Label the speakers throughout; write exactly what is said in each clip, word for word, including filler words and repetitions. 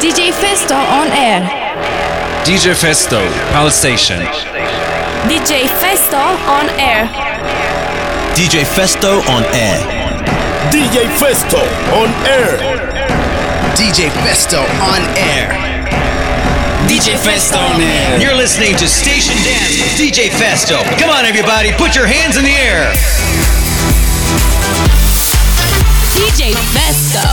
Speaker 1: D J Festo on air.
Speaker 2: D J Festo, Palace Station.
Speaker 1: D J Festo on air.
Speaker 3: D J Festo on air.
Speaker 4: D J Festo on air.
Speaker 3: D J Festo on air.
Speaker 5: D J Festo on air.
Speaker 6: You're listening to Station Dance with D J Festo. Come on, everybody, put your hands in the air.
Speaker 1: D J Festo.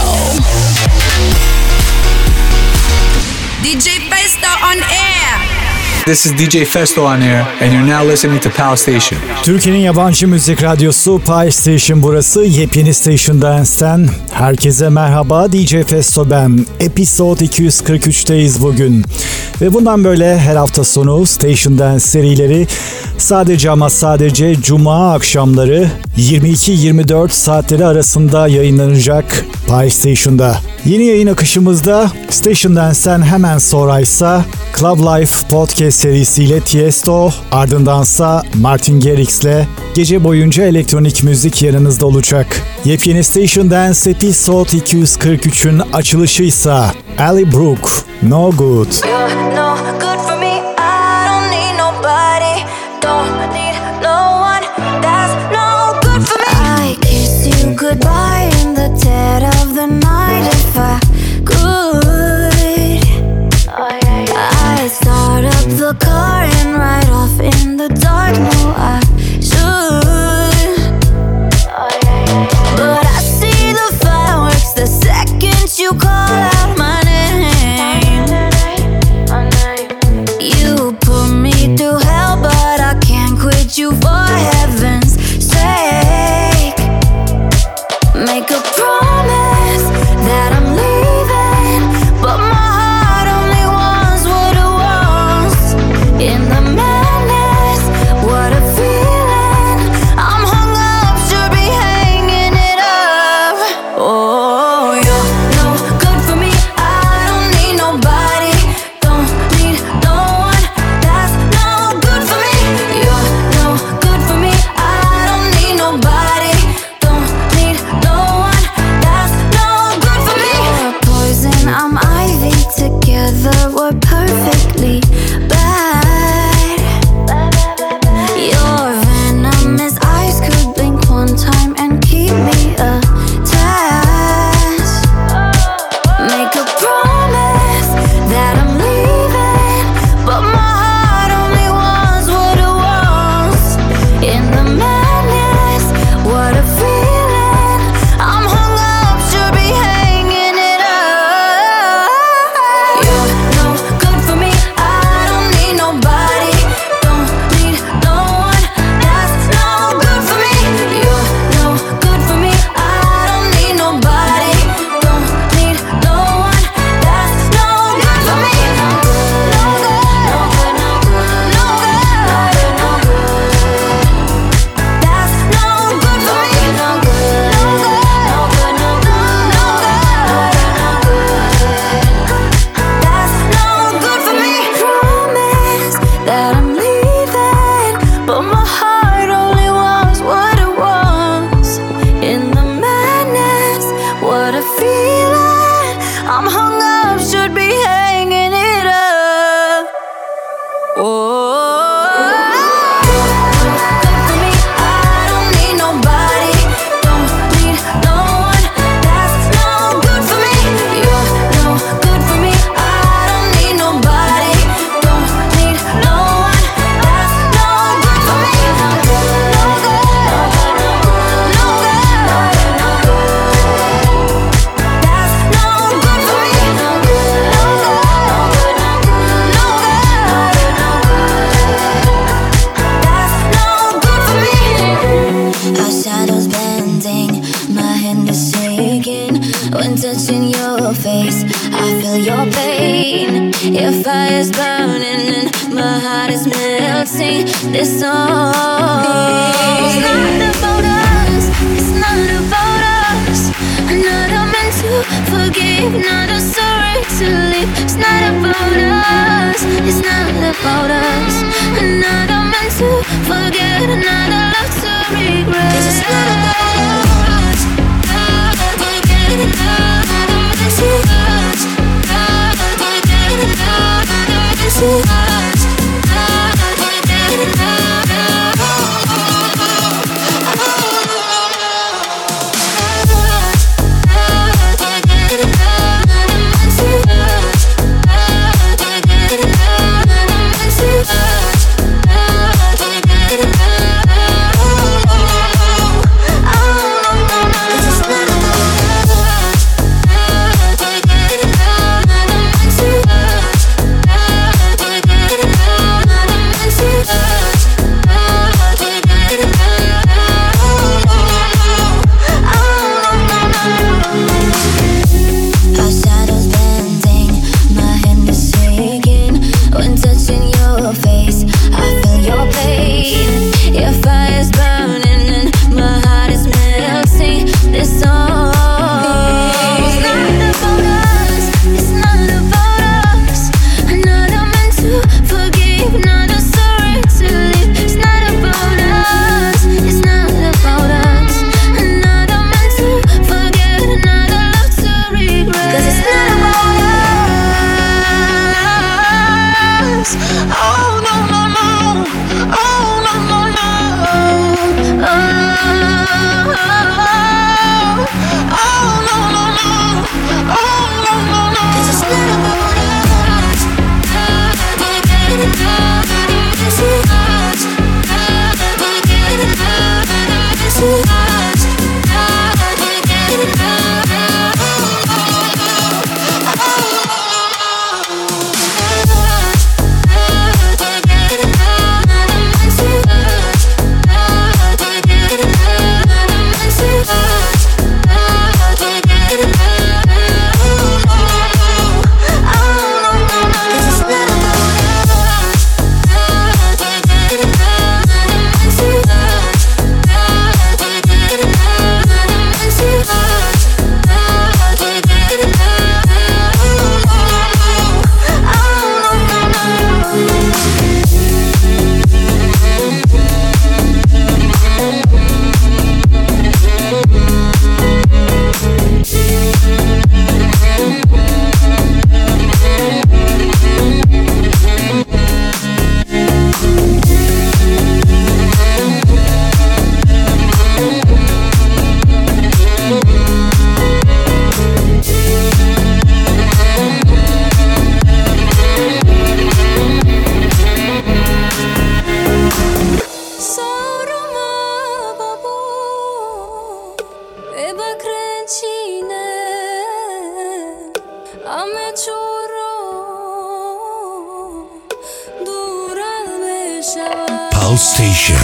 Speaker 1: D J Festo on air.
Speaker 7: This is D J Festo on air and you're now listening to Pal Station.
Speaker 8: Türkiye'nin yabancı müzik radyosu Pal Station burası. Yepyeni Station Dance'ten herkese merhaba. D J Festo ben. Episode iki yüz kırk üçteyiz bugün. Ve bundan böyle her hafta sonu Station Dance serileri sadece ama sadece Cuma akşamları yirmi iki yirmi dört saatleri arasında yayınlanacak Pal Station'da. Yeni yayın akışımızda Station Dance'ten hemen sonraysa Club Life Podcast serisiyle Tiesto, ardındansa Martin Garrix'le gece boyunca elektronik müzik yanınızda olacak. Yepyeni Station Dance Episode iki yüz kırk üçün açılışıysa Ali Brooke, No Good.
Speaker 9: Goodbye in the dead of the night if I could. I'd start up the car and ride off in the dark. No, I should. But I see the fireworks the second you call out my name. You put me through hell, but I can't quit you for heaven's sake. Make a promise that I'm leaving, but my heart only wants what it wants. In the madness, what a feeling. I'm hung up, should be hanging it up. Oh, you're no good for me. I don't need nobody. Don't need no one. That's no good for me. You're no good for me. I don't need nobody. Don't need no one. That's no good for me. You're poison, I'm ivy. Together we're perfectly bad. Your venom is ice. Could blink one time and keep me attached. Make a promise that I'm leaving, but my heart only wants what it wants. In the madness, what a feeling. I'm hung up, should be hanging it up. You're no good for me. I don't need nobody. Don't need no one. That's no good for me. You're no good for me. I don't need nobody. Don't need no one. That's no good for me. No good, no good, no good, no good, no good. That's no good for me. No good, no good, no good, no good, no good. That's no good for me. Promise that I'm leaving, but my heart only wants what it wants. In the madness, what a feeling. I'm hung up, should be hanging it up. Oh, good for me. I don't need nobody. Don't need no one. That's no good for me. You're no good for me. I don't need nobody. Don't need no one. That's no good for me. No good, no good, no good, no good, no good. That's no good for me. No good, no good, no good, no good, no good. That's no good for me. Our shadows bending, my hand is shaking. When touching your face, I feel your pain. Your fire's burning and my heart is melting. This song is not about us. It's not about us. I'm not meant to forgive, not a sorry to leave. It's not about us. It's not about us. I'm not meant to forget, not a love to regret. It's just not about us. Forget it, not a meant to us.
Speaker 10: Pulse Station.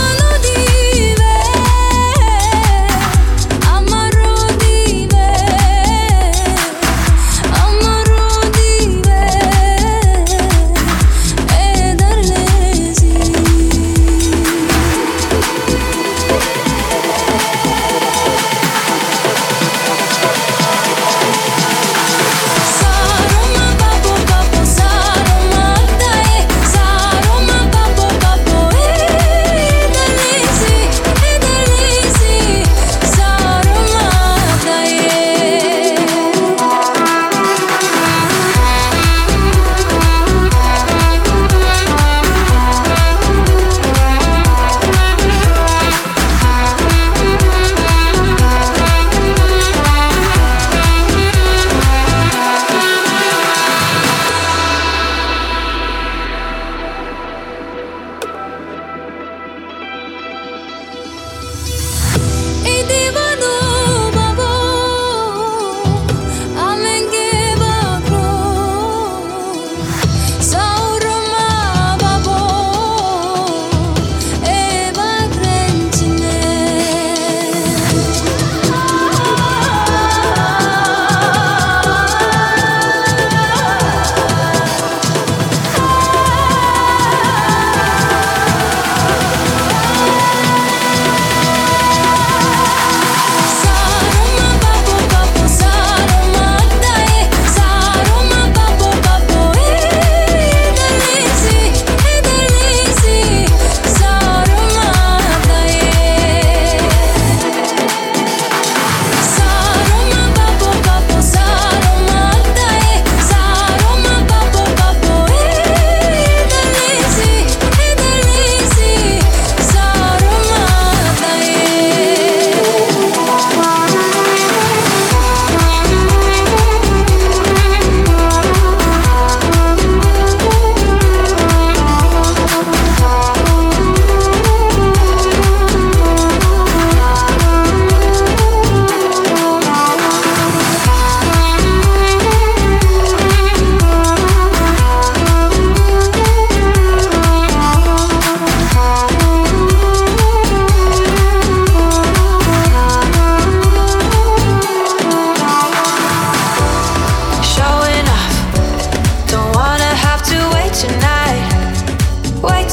Speaker 9: Amaro di me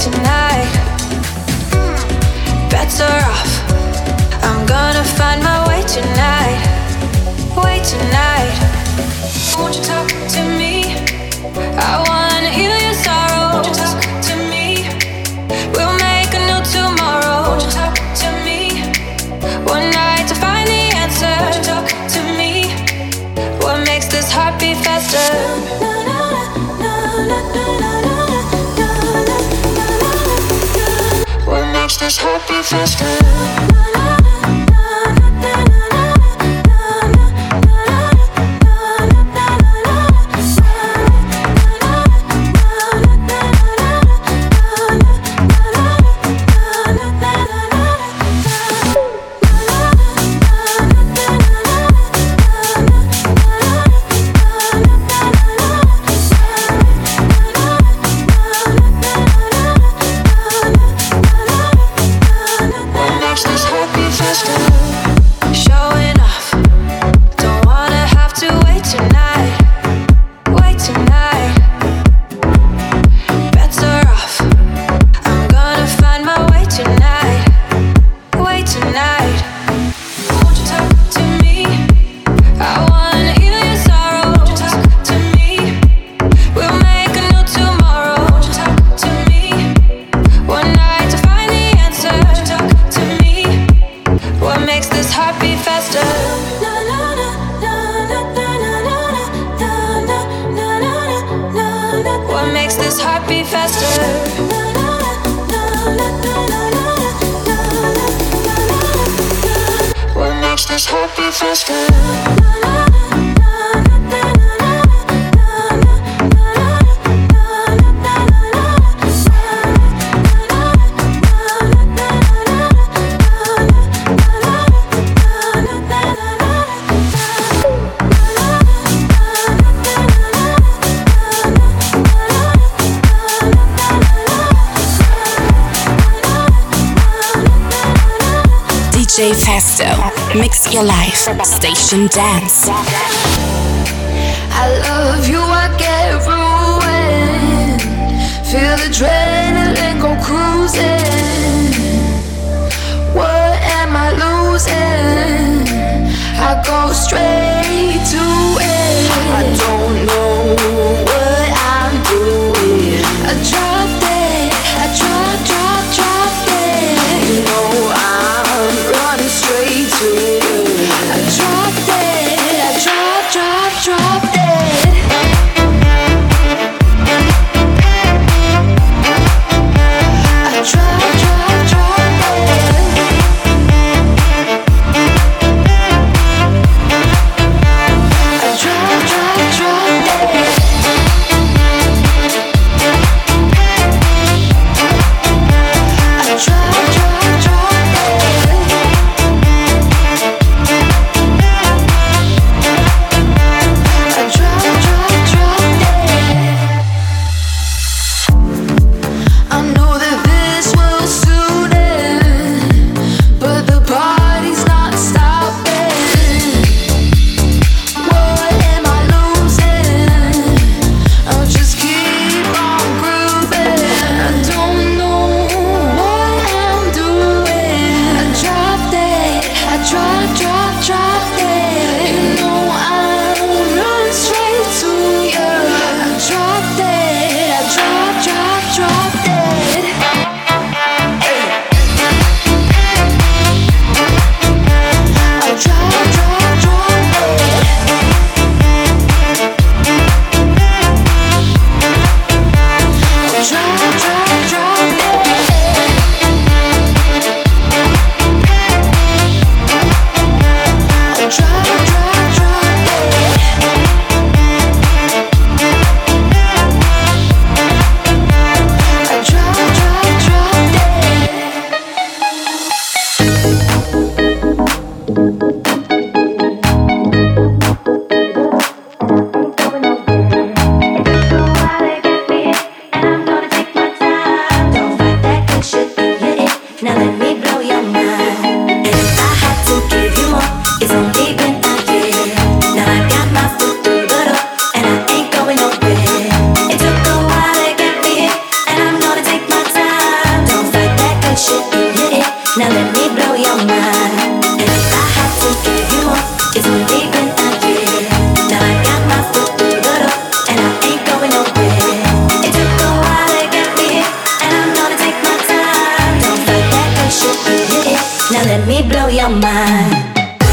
Speaker 9: tonight. Better off. I'm gonna find my way tonight. Way tonight. Won't you talk to me? I wanna heal your sorrow. Won't you talk to me? We'll make a new tomorrow. Won't you talk to me? One night to find the answer. Won't you talk to me? What makes this heart beat faster? What makes this heart beat faster?
Speaker 1: D J Festo, mix your life, station dance.
Speaker 9: I love you, I get ruined. Feel the adrenaline go cruising. What am I losing? I go straight to it. I don't know what I'm doing. I dropped it, I drop, drop, dropped it. You know I'm running straight to it. I dropped it, I drop, drop, dropped it. I let me blow your mind.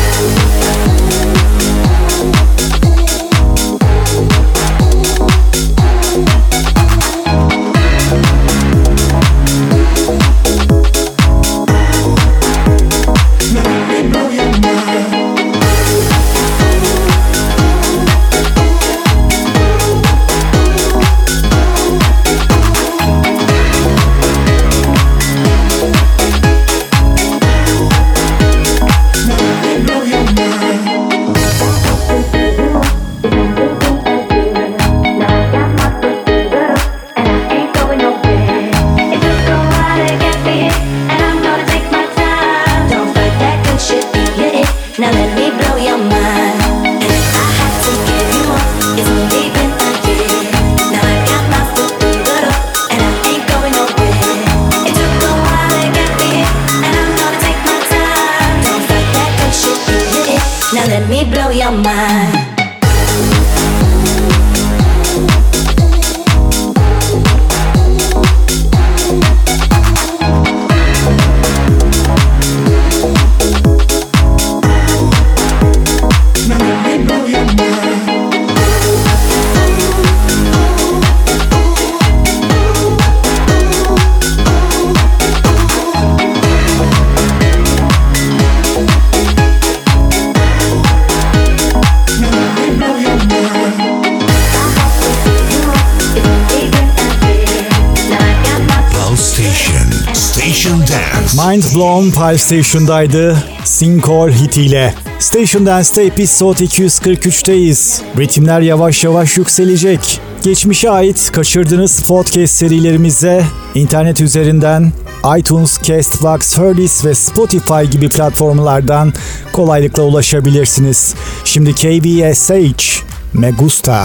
Speaker 8: Mind Blown Pulse Station'daydı Sinkor hitiyle. Station Dance'te episode iki yüz kırk üçteyiz. Ritimler yavaş yavaş yükselecek. Geçmişe ait kaçırdığınız podcast serilerimize internet üzerinden iTunes, Castbox, Herdis ve Spotify gibi platformlardan kolaylıkla ulaşabilirsiniz. Şimdi K B S H, Me Gusta.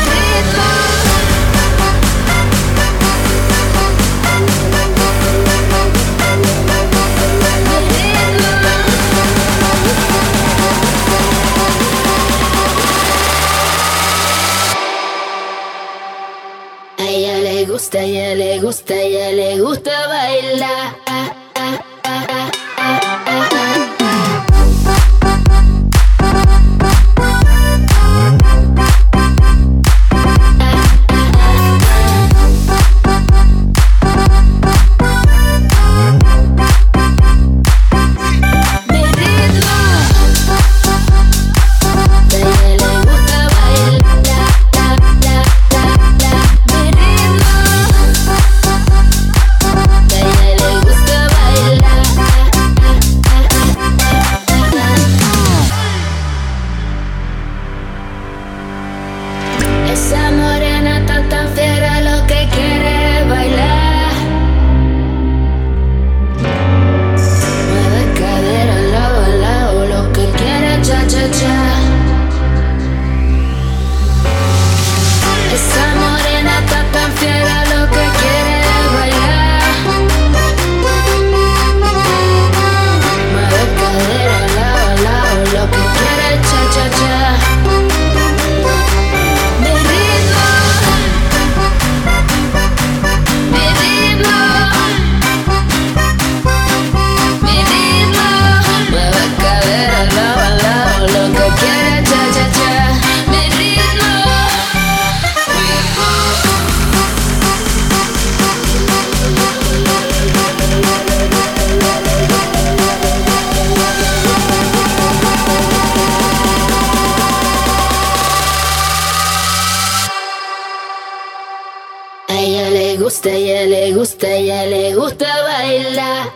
Speaker 9: A ella le gusta, a ella le gusta bailar. gusta, a ella le gusta, a ella le gusta bailar.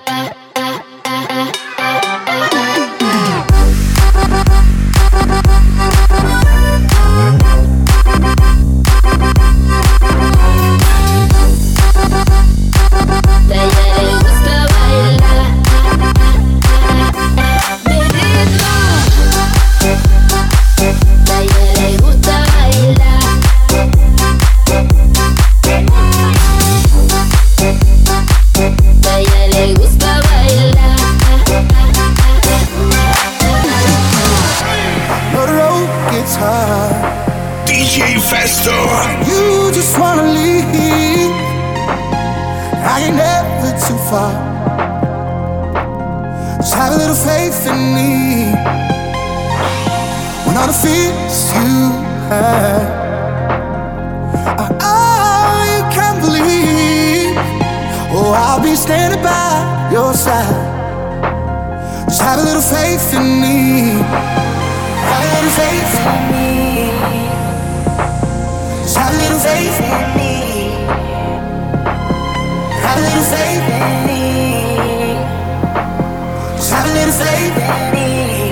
Speaker 4: D J Festo. You just wanna leave. I ain't never too far. Just have a little faith in me. When all the fears you had, I, I can't believe. Oh, I'll be standing by your side. Just have a little faith in me. Have a little faith in me. Just have a little faith in me. Have a little faith in me. Just have a little faith in me.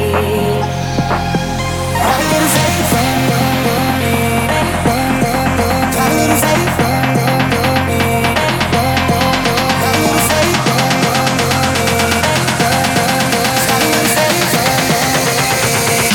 Speaker 4: Have a little faith in me. Have a little faith in me. Have a little faith in me. Have a little faith in me.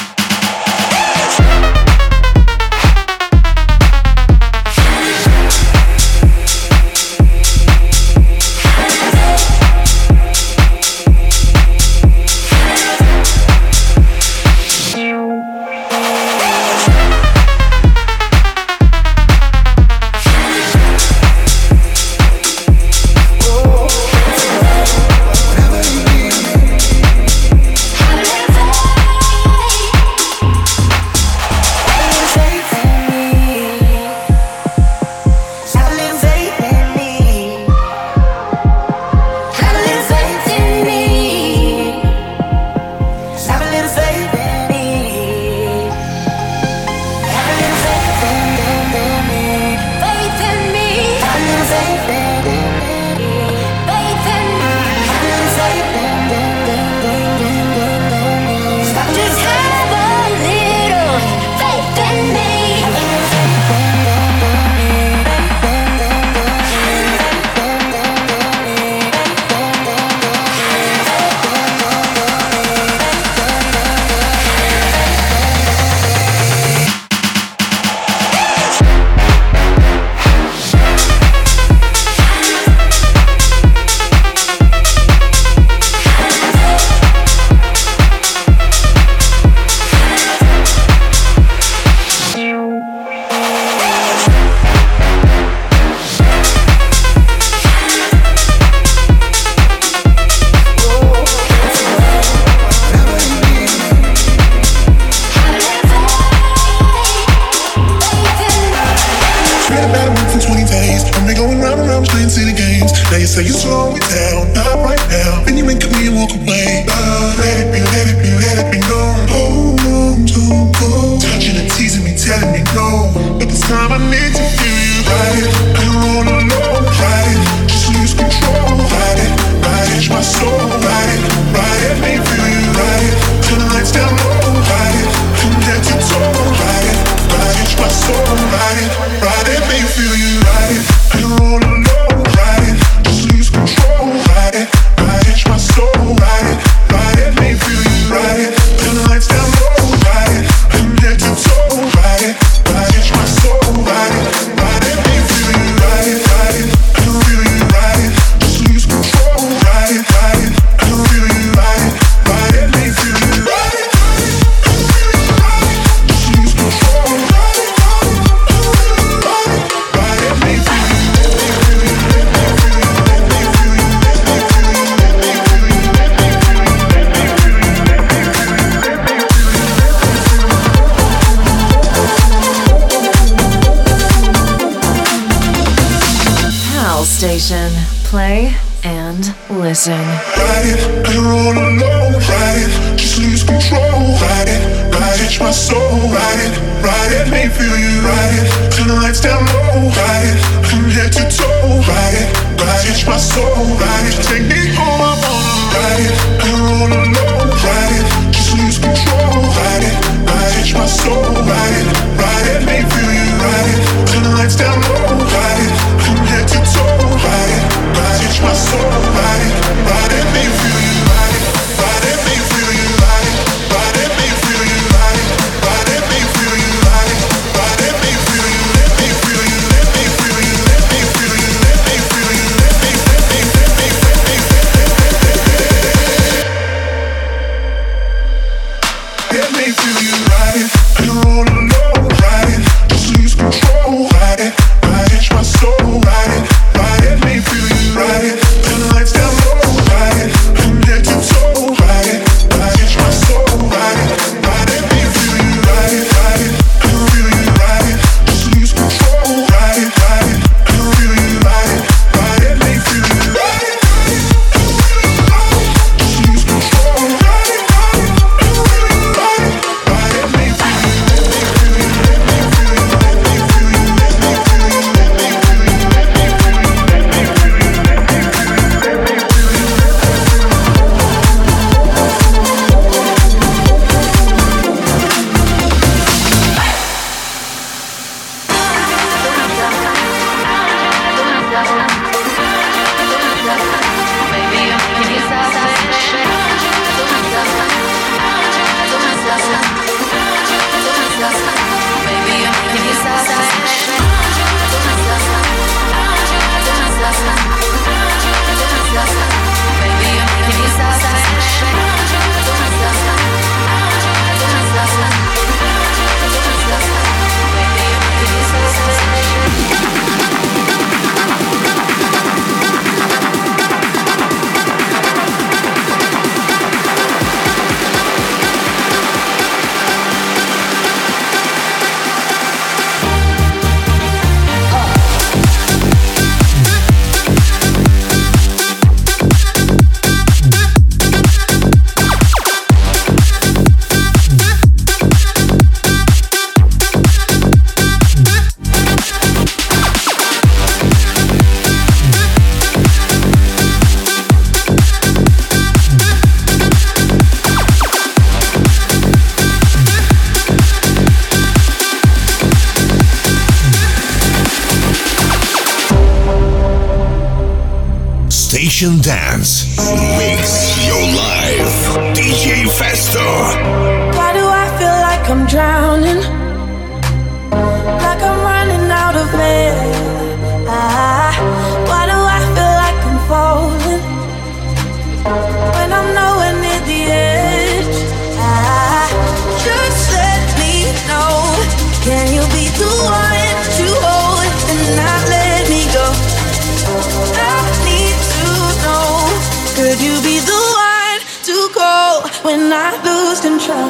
Speaker 10: Station. Play and listen.
Speaker 11: Ride it, I roll alone. Ride it, just lose control. Ride it, ride it, my soul. Ride it, ride it, make me feel you. Ride it, turn the lights down low. Ride it, from head to toe. Ride it, ride it, my soul. Ride it, take me home, I wanna ride it. I roll alone. Ride it, just lose control. Ride it, ride it, my soul. Ride it, ride it, make me feel you. Ride it, turn the lights down low. Ride it, from head to toe. Ride it, ride it, my soul. Ride it, ride it, make me feel you. Ride it, ride it, make me feel you. Ride it, ride it, make me feel you. Ride it, ride it, make me feel you. Ride it, ride it, make me feel you. Let me feel you. Let me feel you. Let me feel you. Let me feel you. Let me let me let me let me let me feel you. Ride it, I roll alone. Ride it, just lose control. Ride it, ride
Speaker 12: Station Dance. Mix your life. D J Festo.
Speaker 9: Why do I feel like I'm drowning? Like I'm running out of air. Ah, why do I feel like I'm falling when I'm nowhere near the edge? Ah, just let me know. Can you be the one to hold and not let me go? I need to know. Could you be the one to go when I lose control?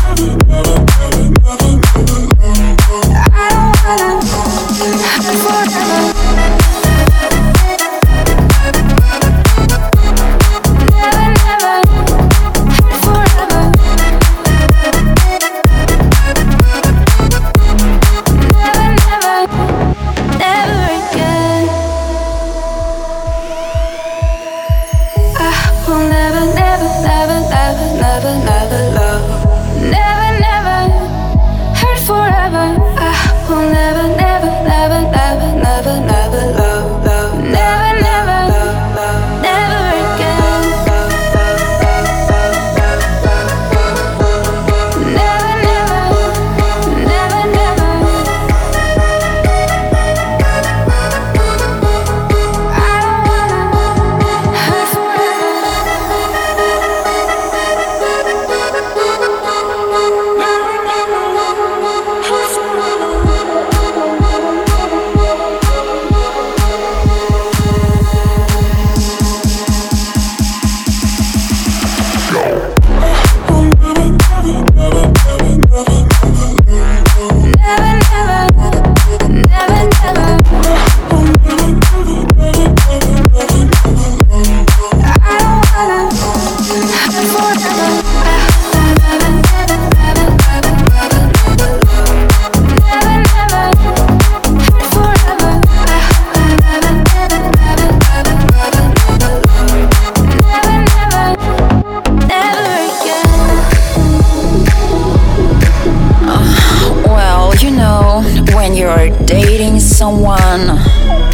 Speaker 9: For
Speaker 13: someone.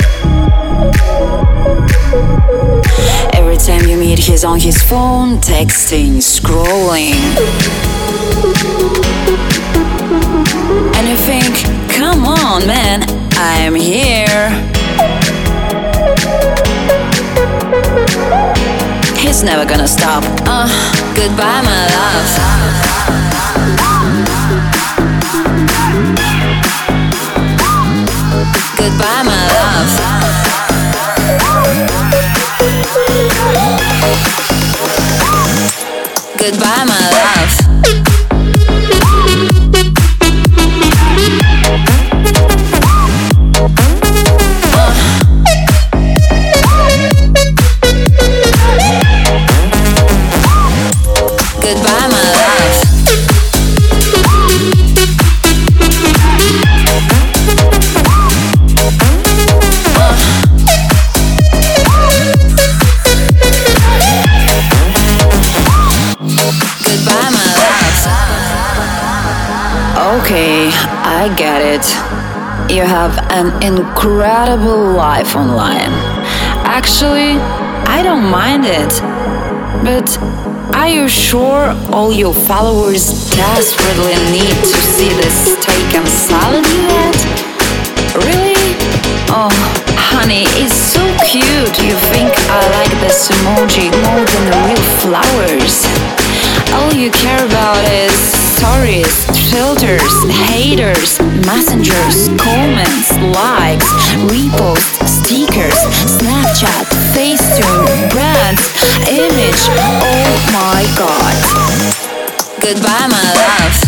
Speaker 13: Every time you meet, he's on his phone, texting, scrolling. And you think, come on, man, I'm here. He's never gonna stop. Uh, goodbye, my love. Goodbye, my love. Goodbye, my love. Goodbye, my love. Goodbye, my love. Okay, I get it. You have an incredible life online. Actually, I don't mind it. But are you sure all your followers desperately need to see the steak and salad you had? Really? Oh, honey, it's so cute. You think I like this emoji more than the real flowers. All you care about is stories, filters, haters, messengers, comments, likes, reposts, stickers, Snapchat, Facetune, brands, image. Oh my god. Goodbye, my love.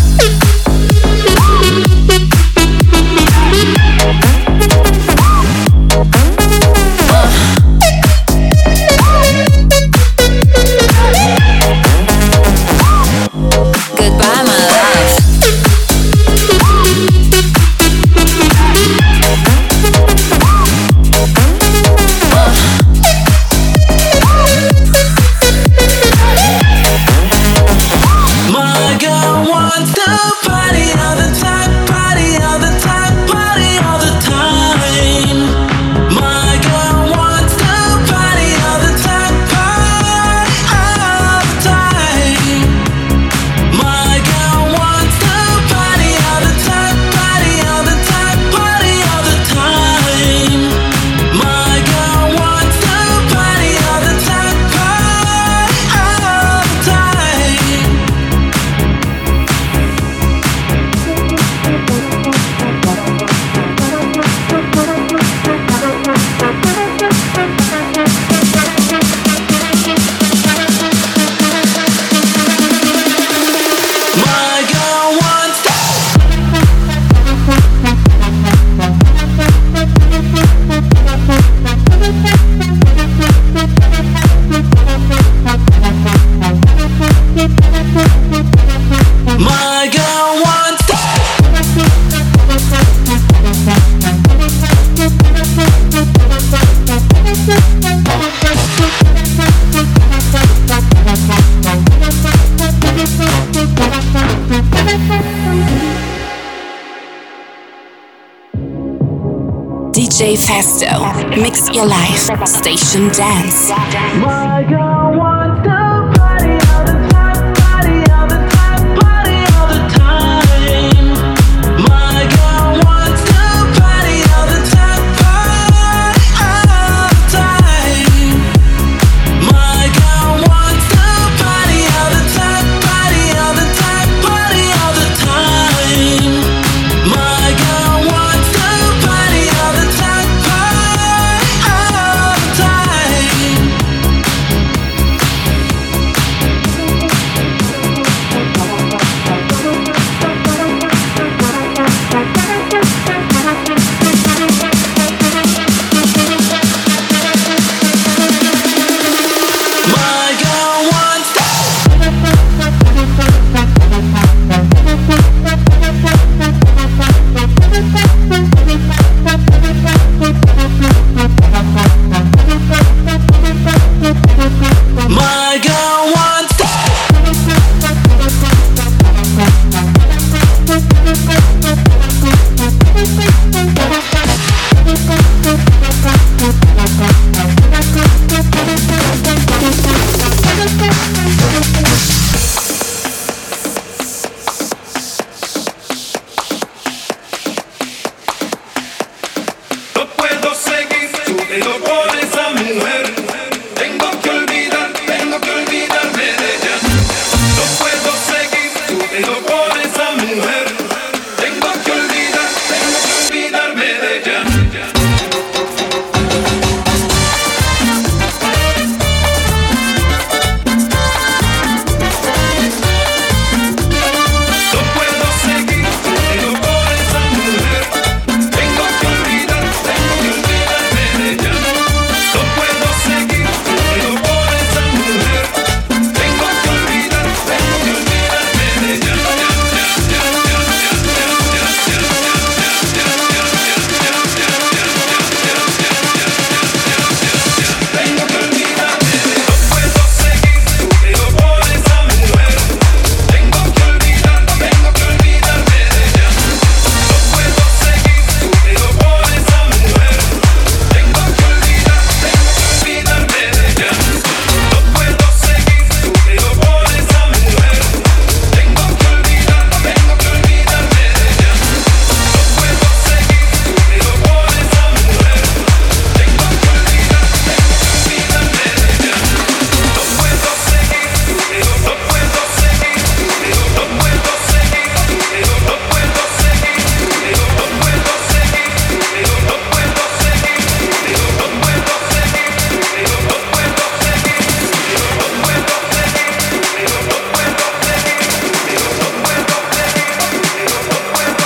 Speaker 13: Goodbye, my love.
Speaker 14: My girl wants to
Speaker 1: Festo. Mix your life. Station Dance.
Speaker 14: My girl wants to party all the time, party all the time, party all the time. My girl wants to party all the time, party all the time. My girl wants to party all the time, party all the time, party all the time. My girl wants to party all the time, party all the time. My girl wants My girl wants
Speaker 11: No puedo seguir tu dedo por esa mujer. Tengo que olvidar, tengo que olvidarme de ella. No puedo seguir tu dedo por esa mujer. Tengo que olvidar, tengo que olvidarme de ella. No puedo seguir tu dedo por esa mujer. Tengo que olvidar, tengo que olvidarme de ella. No puedo seguir tu dedo por esa mujer. Tengo que olvidar, tengo que olvidarme de ella. Tengo que olvidarme de ella. No puedo seguir tu dedo por esa mujer. Tengo que olvidar, tengo que olvidarme de ella. No puedo seguir tu dedo por esa mujer. Tengo que olvidar, tengo que olvidarme de ella. No puedo seguir tu dedo por esa mujer. Tengo que olvidar, tengo que olvidarme de ella. No puedo seguir tu dedo por esa mujer. Tengo que olvidar, tengo que olvidarme de ella. No puedo seguir tu dedo, no puedo seguir tu dedo, no puedo seguir tu dedo, no puedo seguir tu dedo, no puedo seguir tu dedo, no puedo seguir tu dedo, no puedo seguir tu dedo, no puedo seguir tu dedo, no puedo seguir tu dedo, no puedo seguir tu dedo, no puedo seguir tu dedo, no puedo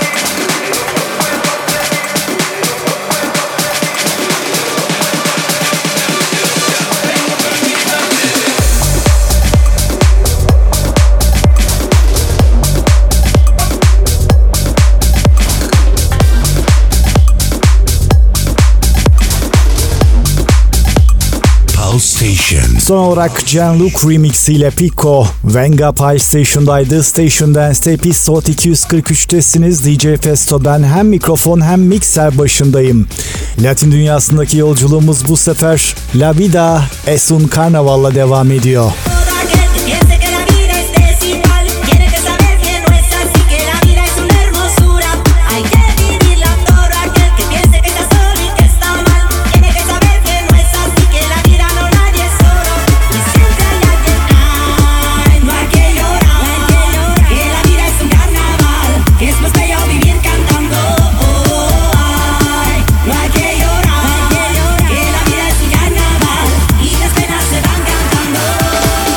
Speaker 12: Pulse Station.
Speaker 8: Son olarak Jean-Luc Remix ile Pico, Venga Pulse Station'daydı. Station Dance'te Episode iki yüz kırk üçtesiniz. D J Festo, ben hem mikrofon hem mikser başındayım. Latin dünyasındaki yolculuğumuz bu sefer La Vida es un Carnaval'la devam ediyor.
Speaker 9: Y las penas se van cantando.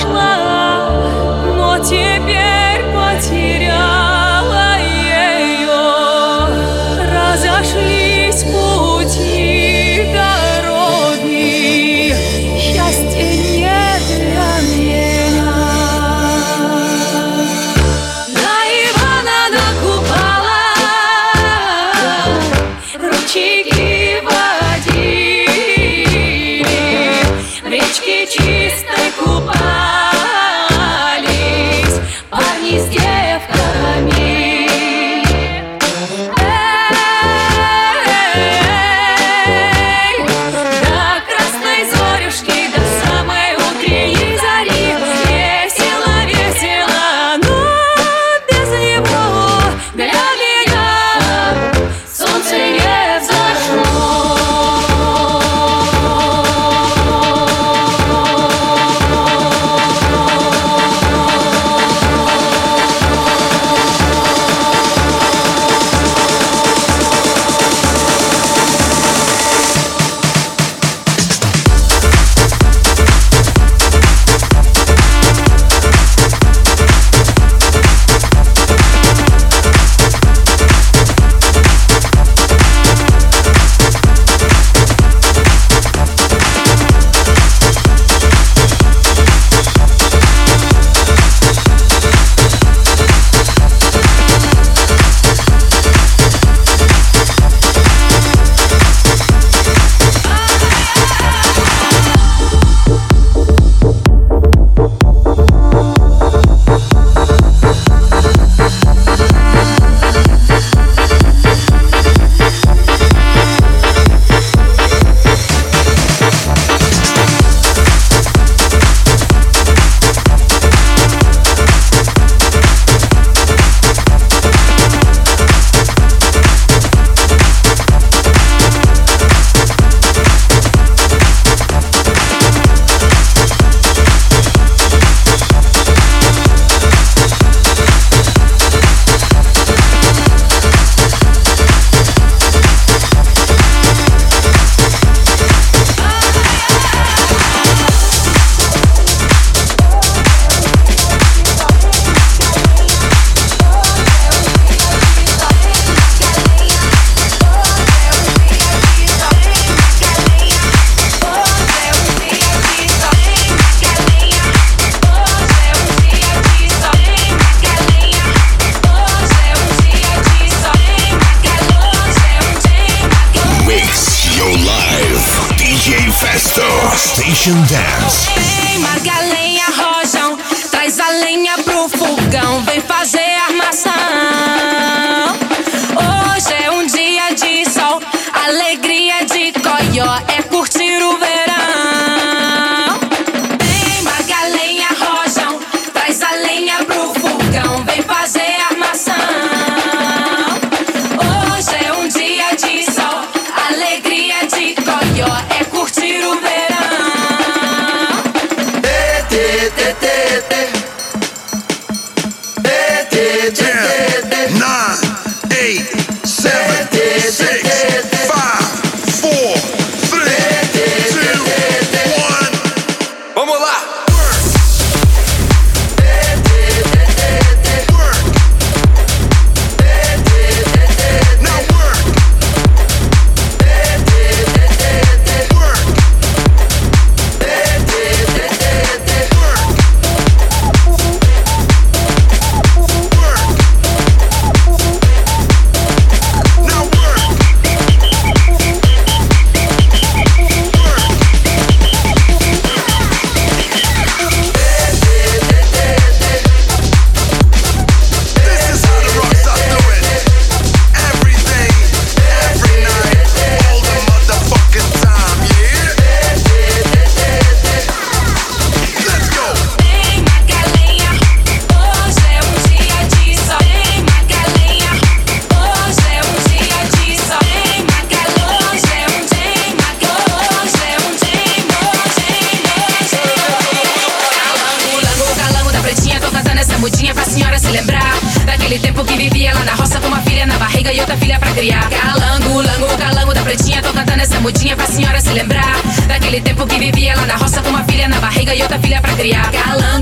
Speaker 14: нашла, но теперь потеряла ее. Разошлись пути дороги, счастья нет для меня. На Ивана, на Купала ручейки водили, в речке чистой купались парни с девками. Эй, до красной зорюшки, до самой утренней зари весело, весело, но без него для меня солнце не взошло.
Speaker 12: Station Dance.
Speaker 14: Ei, Margalenha, rojão, traz a lenha pro fogão, vem fazer armação. Hoje é um dia de sol, alegria de coió, é curtir o verão. Ei, Margalenha, rojão, traz a lenha pro fogão, vem fazer armação. Hoje é um dia de sol, alegria de coió, é curtir o verão.
Speaker 12: Nine, eight, seven, six, five, four, three, two, one. Vamos lá!
Speaker 14: Calango, lango, calango da pretinha. Tô cantando essa mudinha pra senhora se lembrar daquele tempo que vivia lá na roça com uma filha na barriga e outra filha pra criar. Calango.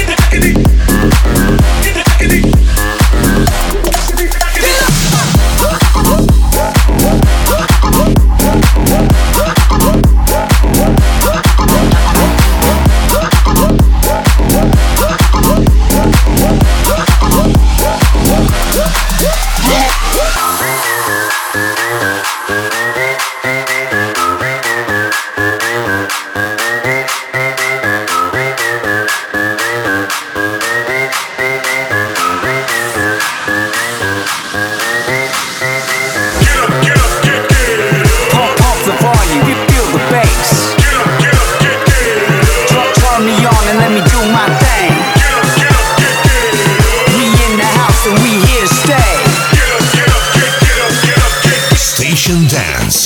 Speaker 15: Station Dance.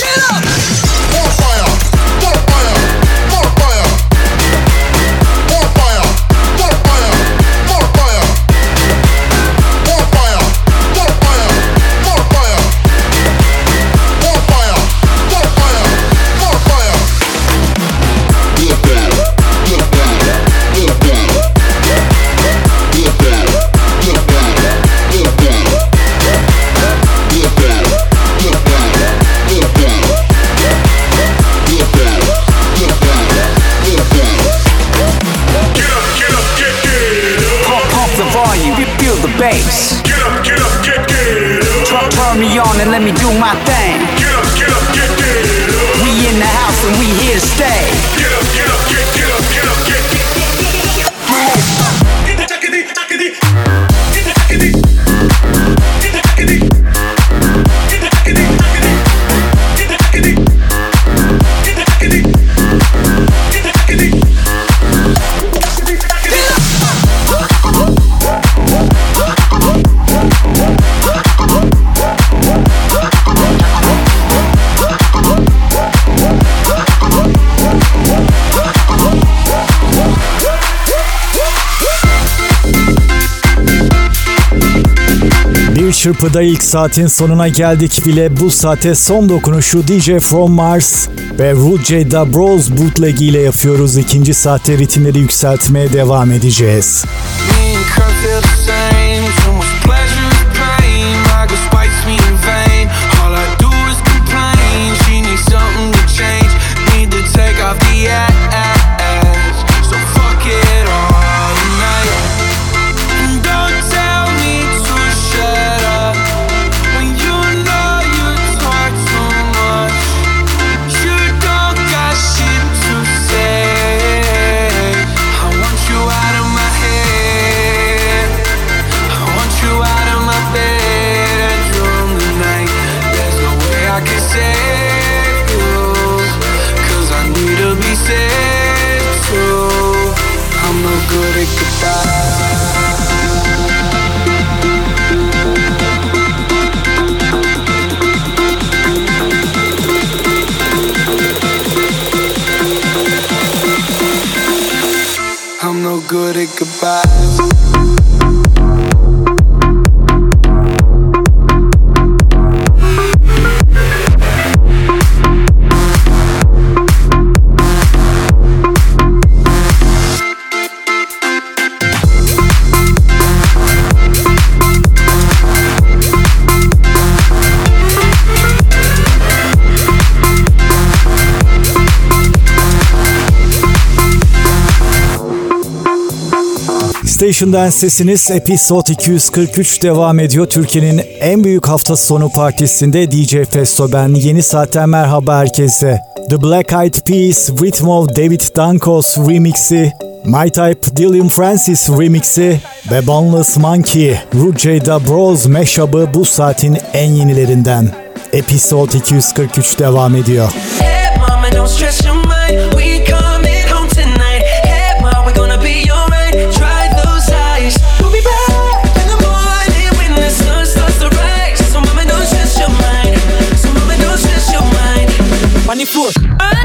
Speaker 16: Bass. Get up, get up, get, get up. Turn, turn me on and let me do my thing.
Speaker 12: Get up, get up, get, get up.
Speaker 16: We in the house and we here to stay.
Speaker 12: Get up, get up, get, get up, get up, get, get, get, get, get, get, get, get, get, get, get, get, get, get, get,
Speaker 8: çırpıda ilk saatin sonuna geldik bile. Bu saate son dokunuşu D J From Mars ve Rudy Da Bros bootleg ile yapıyoruz. İkinci saatte ritimleri yükseltmeye devam edeceğiz.
Speaker 17: Good at goodbyes.
Speaker 8: Station Dance sesiniz Episode iki yüz kırk üç devam ediyor. Türkiye'nin en büyük hafta sonu partisinde D J Festo ben. Yeni saatten merhaba herkese. The Black Eyed Peas, Rhythm of David Dankos remixi, My Type Dillian Francis remixi ve Boneless Monkey, Rudy Da Bros mashup'ı bu saatin en yenilerinden. Episode iki yüz kırk üç devam ediyor.
Speaker 14: Hey mama, don't stress your mind. We coming home tonight. Hey mama, we're gonna be alright. Try those eyes. We'll be back in the morning when the sun starts to rise. So mama, don't stress your mind. So mama, don't stress your mind. On the floor.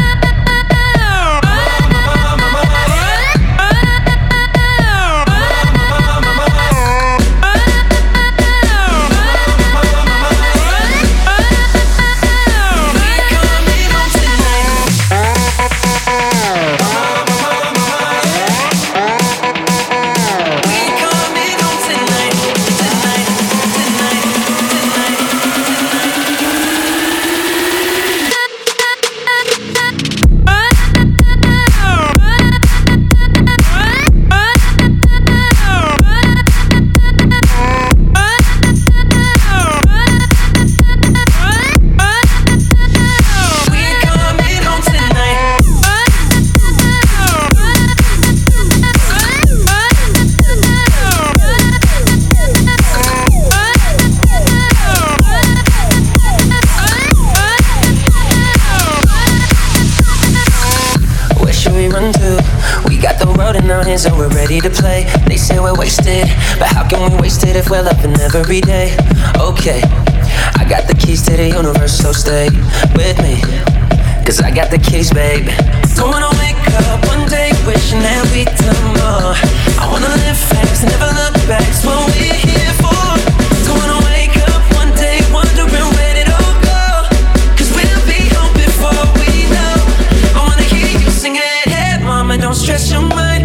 Speaker 18: And we're ready to play. They say we're wasted, but how can we waste it if we're loving every day? Okay, I got the keys to the universe, so stay with me, cause I got the keys, babe. Don't wanna wake up one day wishing that we'd done more. I wanna live fast and never look back, it's what we're here for. Don't wanna wake up one day wondering where it all go, cause we'll be home before we know. I wanna hear you sing it. Hey mama, don't stress your mind.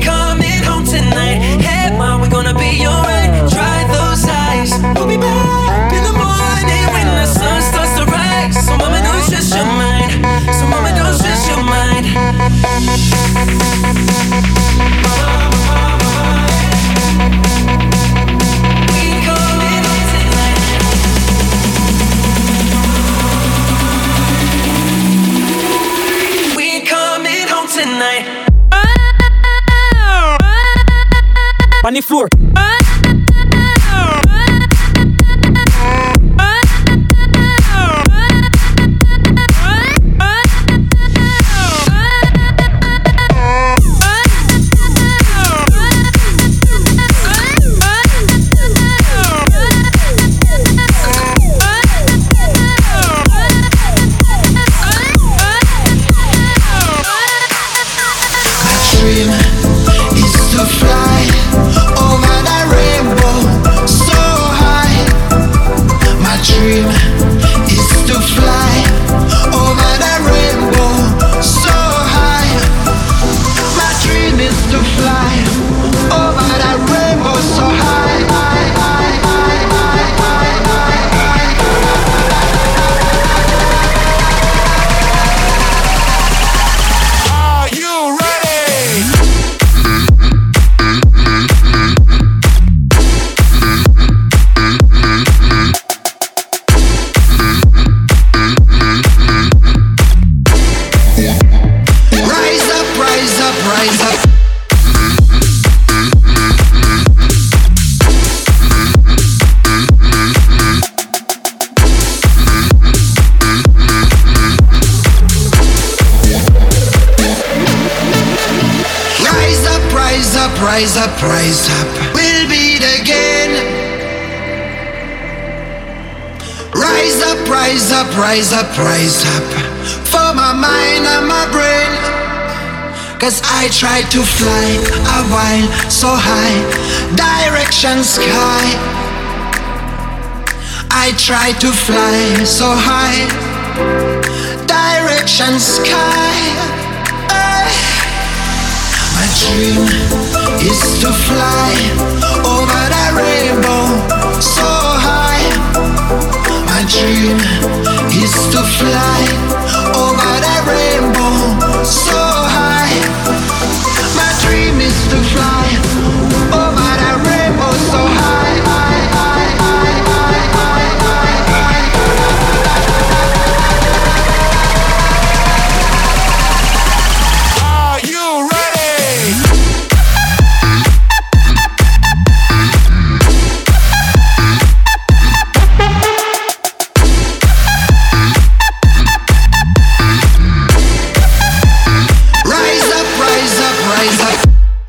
Speaker 18: Hey mom, we're gonna be alright. Dry those eyes. We'll be back in the morning when the sun starts to rise. So mama, don't stress your mind. So mama, don't stress your mind. Mama, mama, mama.
Speaker 4: rise up, rise up. We'll beat again. Rise up, rise up, rise up, rise up. For my mind and my brain. Cause I tried to fly a while so high, direction sky. I tried to fly so high, direction sky. Hey. My dream is to fly over the rainbow so high. My dream is to fly over the rainbow so high. My dream is to fly over the rainbow so high, high, high, high, high, high, high, high. Are you ready? Rise up, rise up, rise up.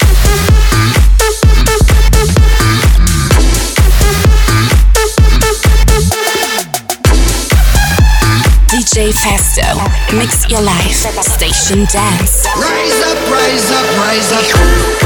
Speaker 1: D J Festo, mix your life, station dance.
Speaker 4: Rise up, rise up, rise up.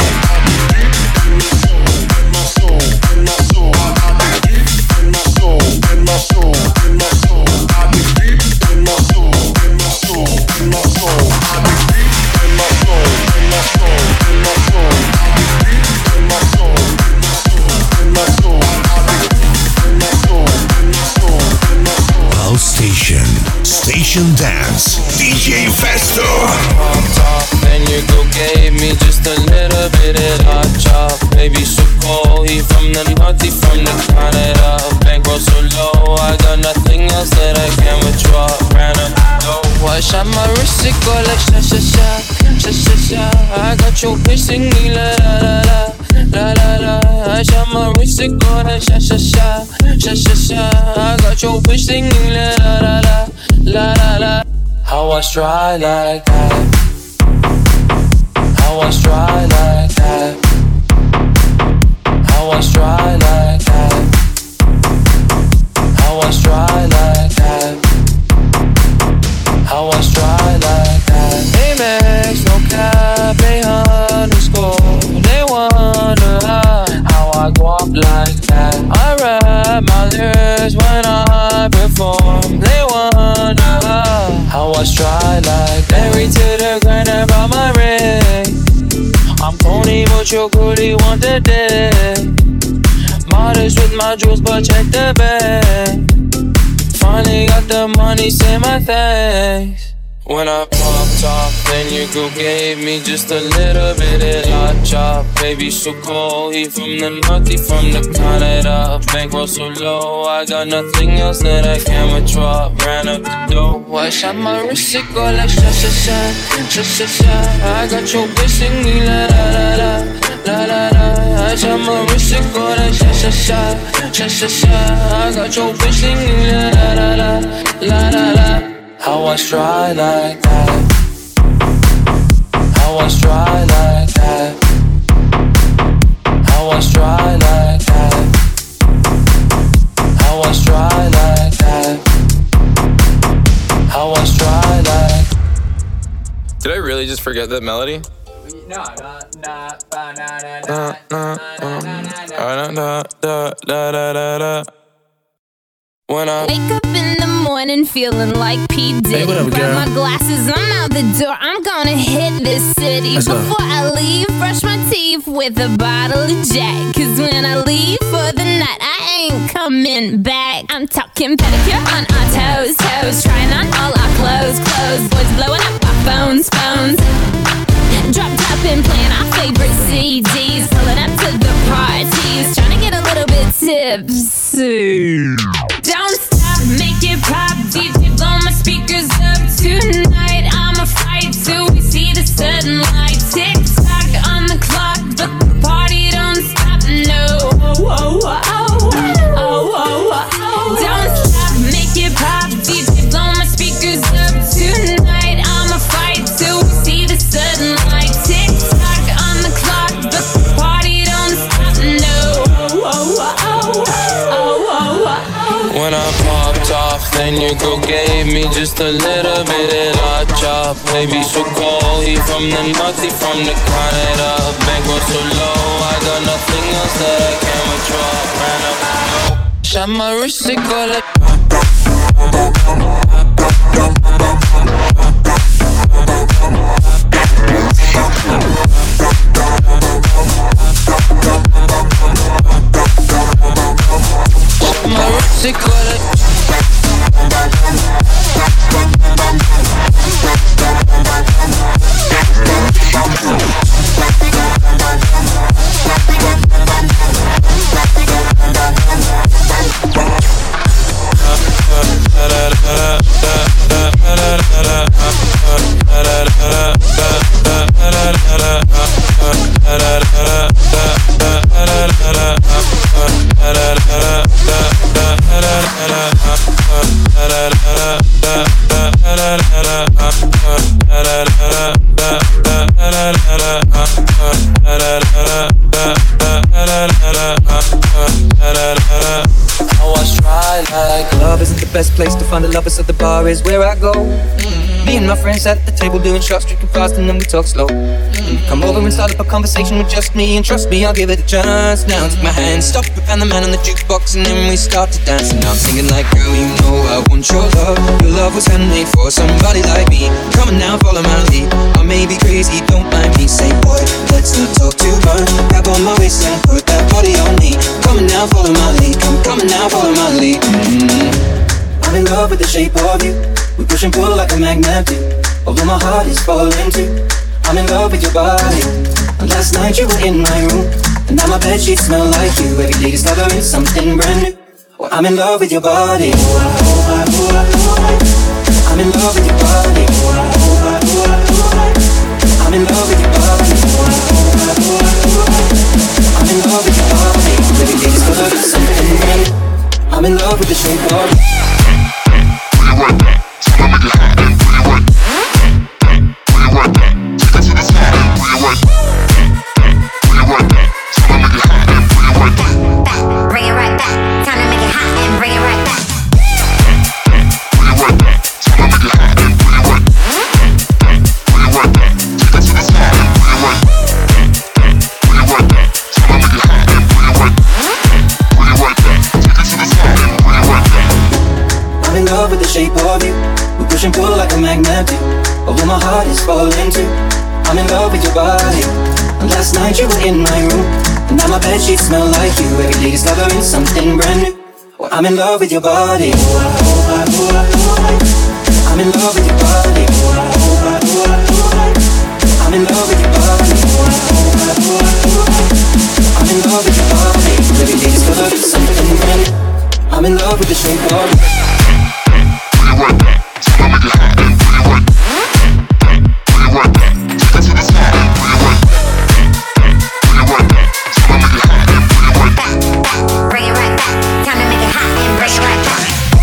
Speaker 11: soul. my soul, in my soul. I dig deep in my soul, in my soul, in my soul. I dig deep in my soul, in my soul, in my soul. I dig deep in my soul, in my soul, in my soul. I dig deep in my soul, in my soul, in my soul.
Speaker 15: Pulse Station, Station Dance, D J Festo.
Speaker 19: Popped off, then you go gave me just a little bit of hot chop. Baby so cold, he from the north, he from the Canada. Bankroll so low, I got nothing else that I can withdraw. Ran up the dough, I shot my wrist, it go like sha sha sha, sha sha sha. I got your bitch singing la la la la, la la la. I shot my wrist, it go like sha sha sha, sha sha sha. I got your bitch singing la la la la, la la la. How I try like that? How I try like that? How I try like that? How I try like that? How I try like that? Amex, no cap, they underscore. They wonder how, how I go up like that. I rap my lyrics when I perform. They wonder how, how I try like that. Married to the grind about my ring. I'm Tony, but your goodie want the dick. Modest with my jewels, but check the bag. Finally got the money, say my thanks. When I popped off, then your girl gave me just a little bit of hot chop. Baby so cold, he from the north, he from the Canada. Bankroll so low, I got nothing else that I can withdraw. Ran up the dough, I shot my wrist, it go like sha sha sha, sha sha sha. I got your bitch singing la la la la, la la la. I shot my wrist, it go like sha sha sha, sha sha sha. I got your bitch singing la la la la, la la la. How I try like that? How I try like that? How I try like that? How I try like that? How I try like.
Speaker 20: Did I really just forget that melody?
Speaker 19: No, no, no, no, no,
Speaker 20: Da da da da da da da. When I
Speaker 21: wake up in the morning feeling like P. Diddy.
Speaker 20: Hey, what up,
Speaker 21: Grab
Speaker 20: girl?
Speaker 21: my glasses, I'm out the door. I'm gonna hit this city.
Speaker 20: Let's go.
Speaker 21: Before I leave, brush my teeth with a bottle of Jack. Cause when I leave for the night, I ain't coming back. I'm talking pedicure on our toes, toes. Trying on all our clothes, clothes. Boys blowing up our phones, phones. Drop top and playing our favorite C Ds. Pulling up to the parties. Trying to get a little bit tipsy. Don't stop, make it pop. D J blow my speakers up tonight. I'ma fight till we see the sunlight. Tick tock on the clock, but the party don't stop. No. Oh, oh, oh, oh, oh, oh. Don't stop, make it pop. D J blow my speakers up tonight. I'ma fight till we see the sunlight. Tick tock on the clock, but the party don't stop. No. Oh, oh, oh, oh, oh, oh.
Speaker 19: When I popped off, then your girl gave me just a little bit of hot chop. Baby so cold, he from the north, he from the Canada. Bankroll so low, I got nothing else that I can withdraw. Ran up the dough, shot my wrist, it go like. My wrist, it go like.
Speaker 18: Love isn't the best place to find the lovers, so the bar is where I go. Mm-hmm. Me and my friends sat at the table doing shots, drinking fast, and then we talk slow. Come over and start up a conversation with just me, and trust me, I'll give it a chance. Now take my hand, stop it, and the man on the jukebox, and then we start to dance. And I'm singing like, girl, you know I want your love. Your love was handmade for somebody like me. Come on now, follow my lead. I may be crazy, don't mind me. Say, boy, let's not talk too much. Grab on my waist and put that body on me. Come on now, follow my lead. Come, come on now, follow my lead. Mm-hmm. I'm in love with the shape of you. We push and pull like a magnet do. Although my heart is falling too. I'm in love with your body. And last night you were in my room, and now my bedsheets smell like you. Every day discovering something brand new. Well, I'm in love with your body. I'm in love with your body. I'm in love with your body. I'm in love with your body. Every day discovering something brand new. I'm in love with the shape of you.
Speaker 9: Bring it right back. Time to make it hot and bring it right back.
Speaker 18: I'm in love with the shape of you. We push and pull like a magnet do. Although my heart is falling too. I'm in love with your body. And last night you were in my room, and now my bedsheets smell like you. Every day discovering something brand new. Well, I'm in love with your body. I'm in love with your body. I'm in love with your body. I'm in love with your body. Every day discovering something brand new. I'm in love with the shape of you.
Speaker 9: Bring it right back. Time to make it hot and bring it right back.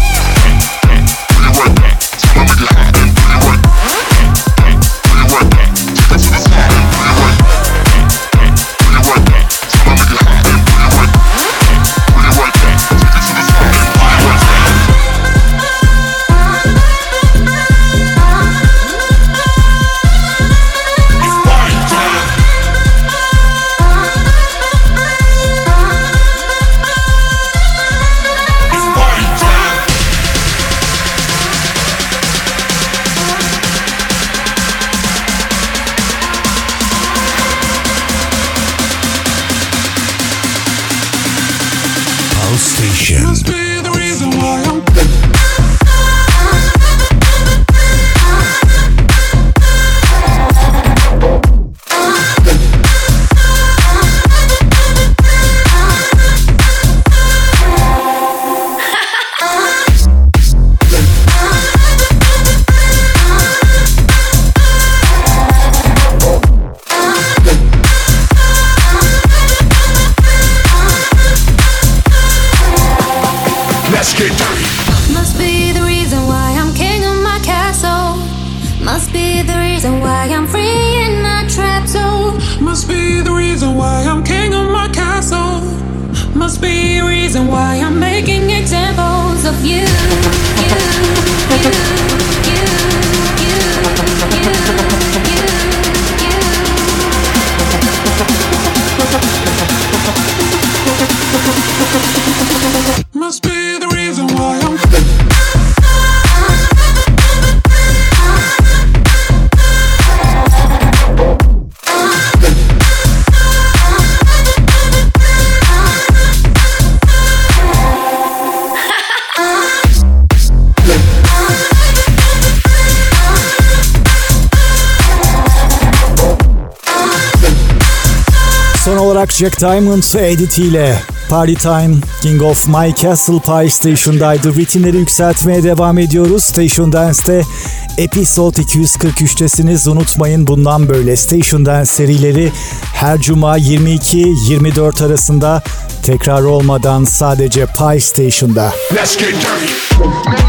Speaker 8: Son olarak Jack Diamond editiyle Party Time, King of My Castle Pie Station'daydı. Ritimleri yükseltmeye devam ediyoruz. Station Dance'te Episode iki yüz kırk üçtesiniz. Unutmayın, bundan böyle Station Dance serileri her cuma yirmi iki yirmi dört arasında, tekrar olmadan sadece Pie Station'da.
Speaker 12: Let's get dirty.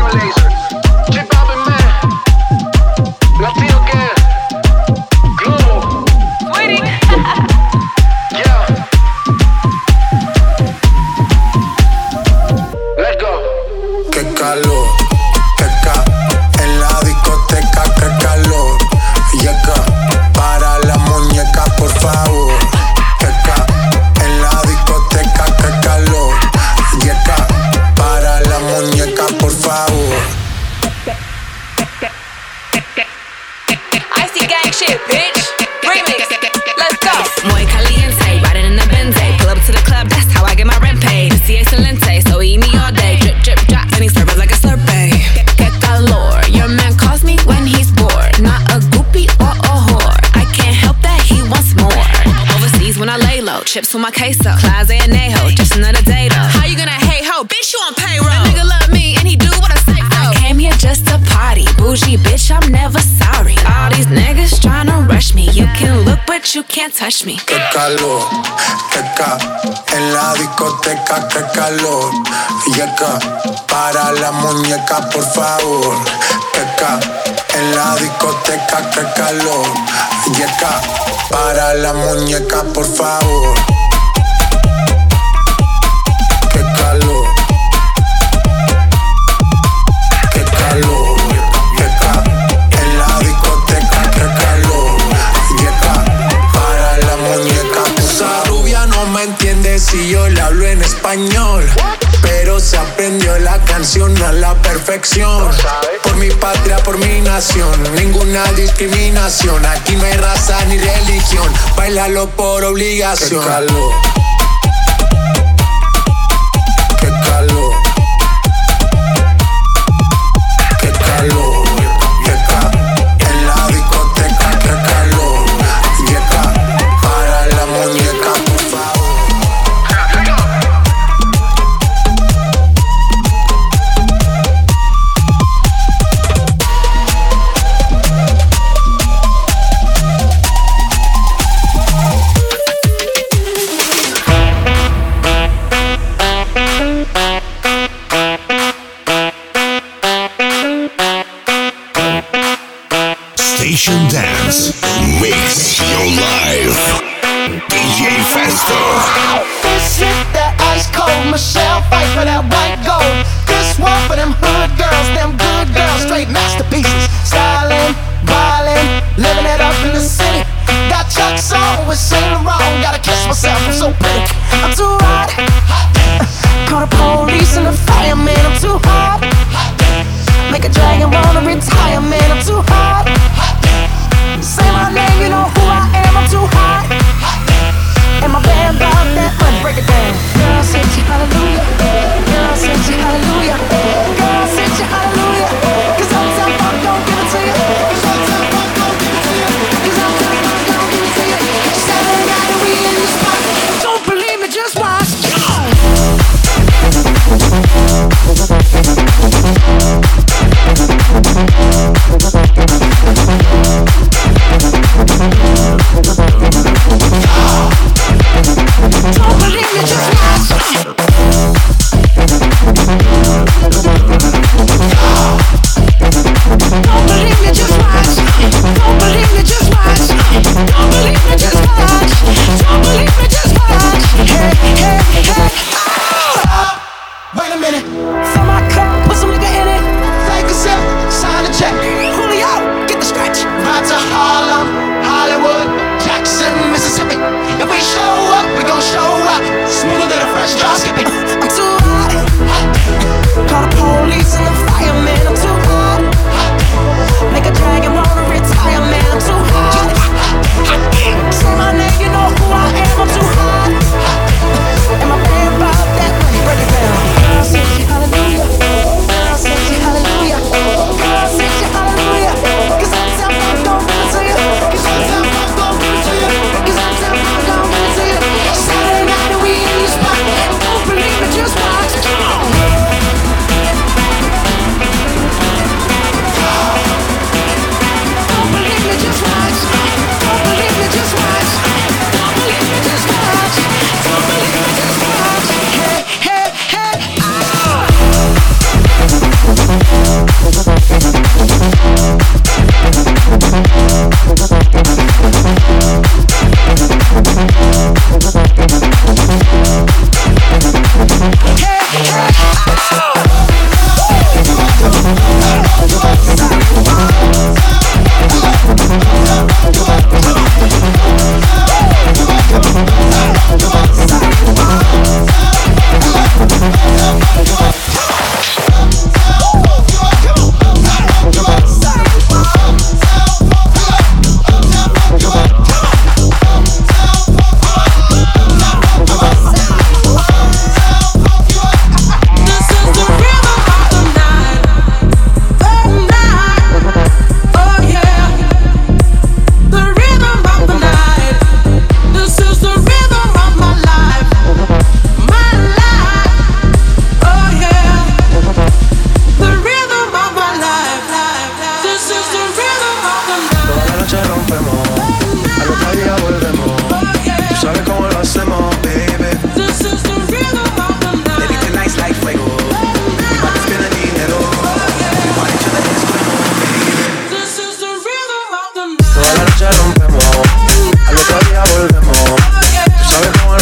Speaker 12: J Balvin, man. Latino gang. Global. Waiting. Yeah. Let's go.
Speaker 17: Qué calor, qué ca en la discoteca, qué
Speaker 2: chips with my queso. Closet and Anejo, just another day though. How you gonna hate ho? Bitch, you on payroll. My nigga love me and he do what I say so. I came here just to party. Bougie bitch, I'm never sorry. All these niggas tryna rush me. You can look but you can't touch me.
Speaker 17: Qué calor, qué ca. En la discoteca, qué calor. Yeca, para la muñeca, por favor. Qué ca. En la discoteca, qué calor. Yeca, para la muñeca, por favor. Qué calor. Qué calor. Yeca, en la discoteca, qué calor. Yeca, para la muñeca, por favor. Esa rubia no me entiende si yo le hablo en español, pero se aprendió la canción a la perfección. Por mi patria, por mi nación, ninguna discriminación. Aquí no hay raza ni religión, bailalo por obligación. Qué calor. Qué calor. Qué calor. Yeca, en la discoteca, qué calor. Yeca, para la muñeca, por favor.
Speaker 15: Station Dance makes your life. D J Festo.
Speaker 4: This hit that ice cold Michelle fight for that white gold. This one for them hood girls, them good girls, straight masterpieces. Styling, violin, living it up in the city. Got Chuck's on with Saint Laurent. Gotta kiss myself, I'm so pretty. I'm too hot. Call the police and the fireman, I'm too hot. Make a dragon wanna retire, man, I'm too hot. Say my name, you know who I am, I'm too hot. And my band bought that money, break it down. Girl, say you hallelujah. Girl, say you hallelujah. Girl, say you hallelujah. Cause I'm tough, I'm gon' give it to you. Cause I'm tough, I'm gon' give it to you. Cause I'm tough, I'm gon' give it to you. Saturday night and we in the spot. Don't believe me, just watch. Come on.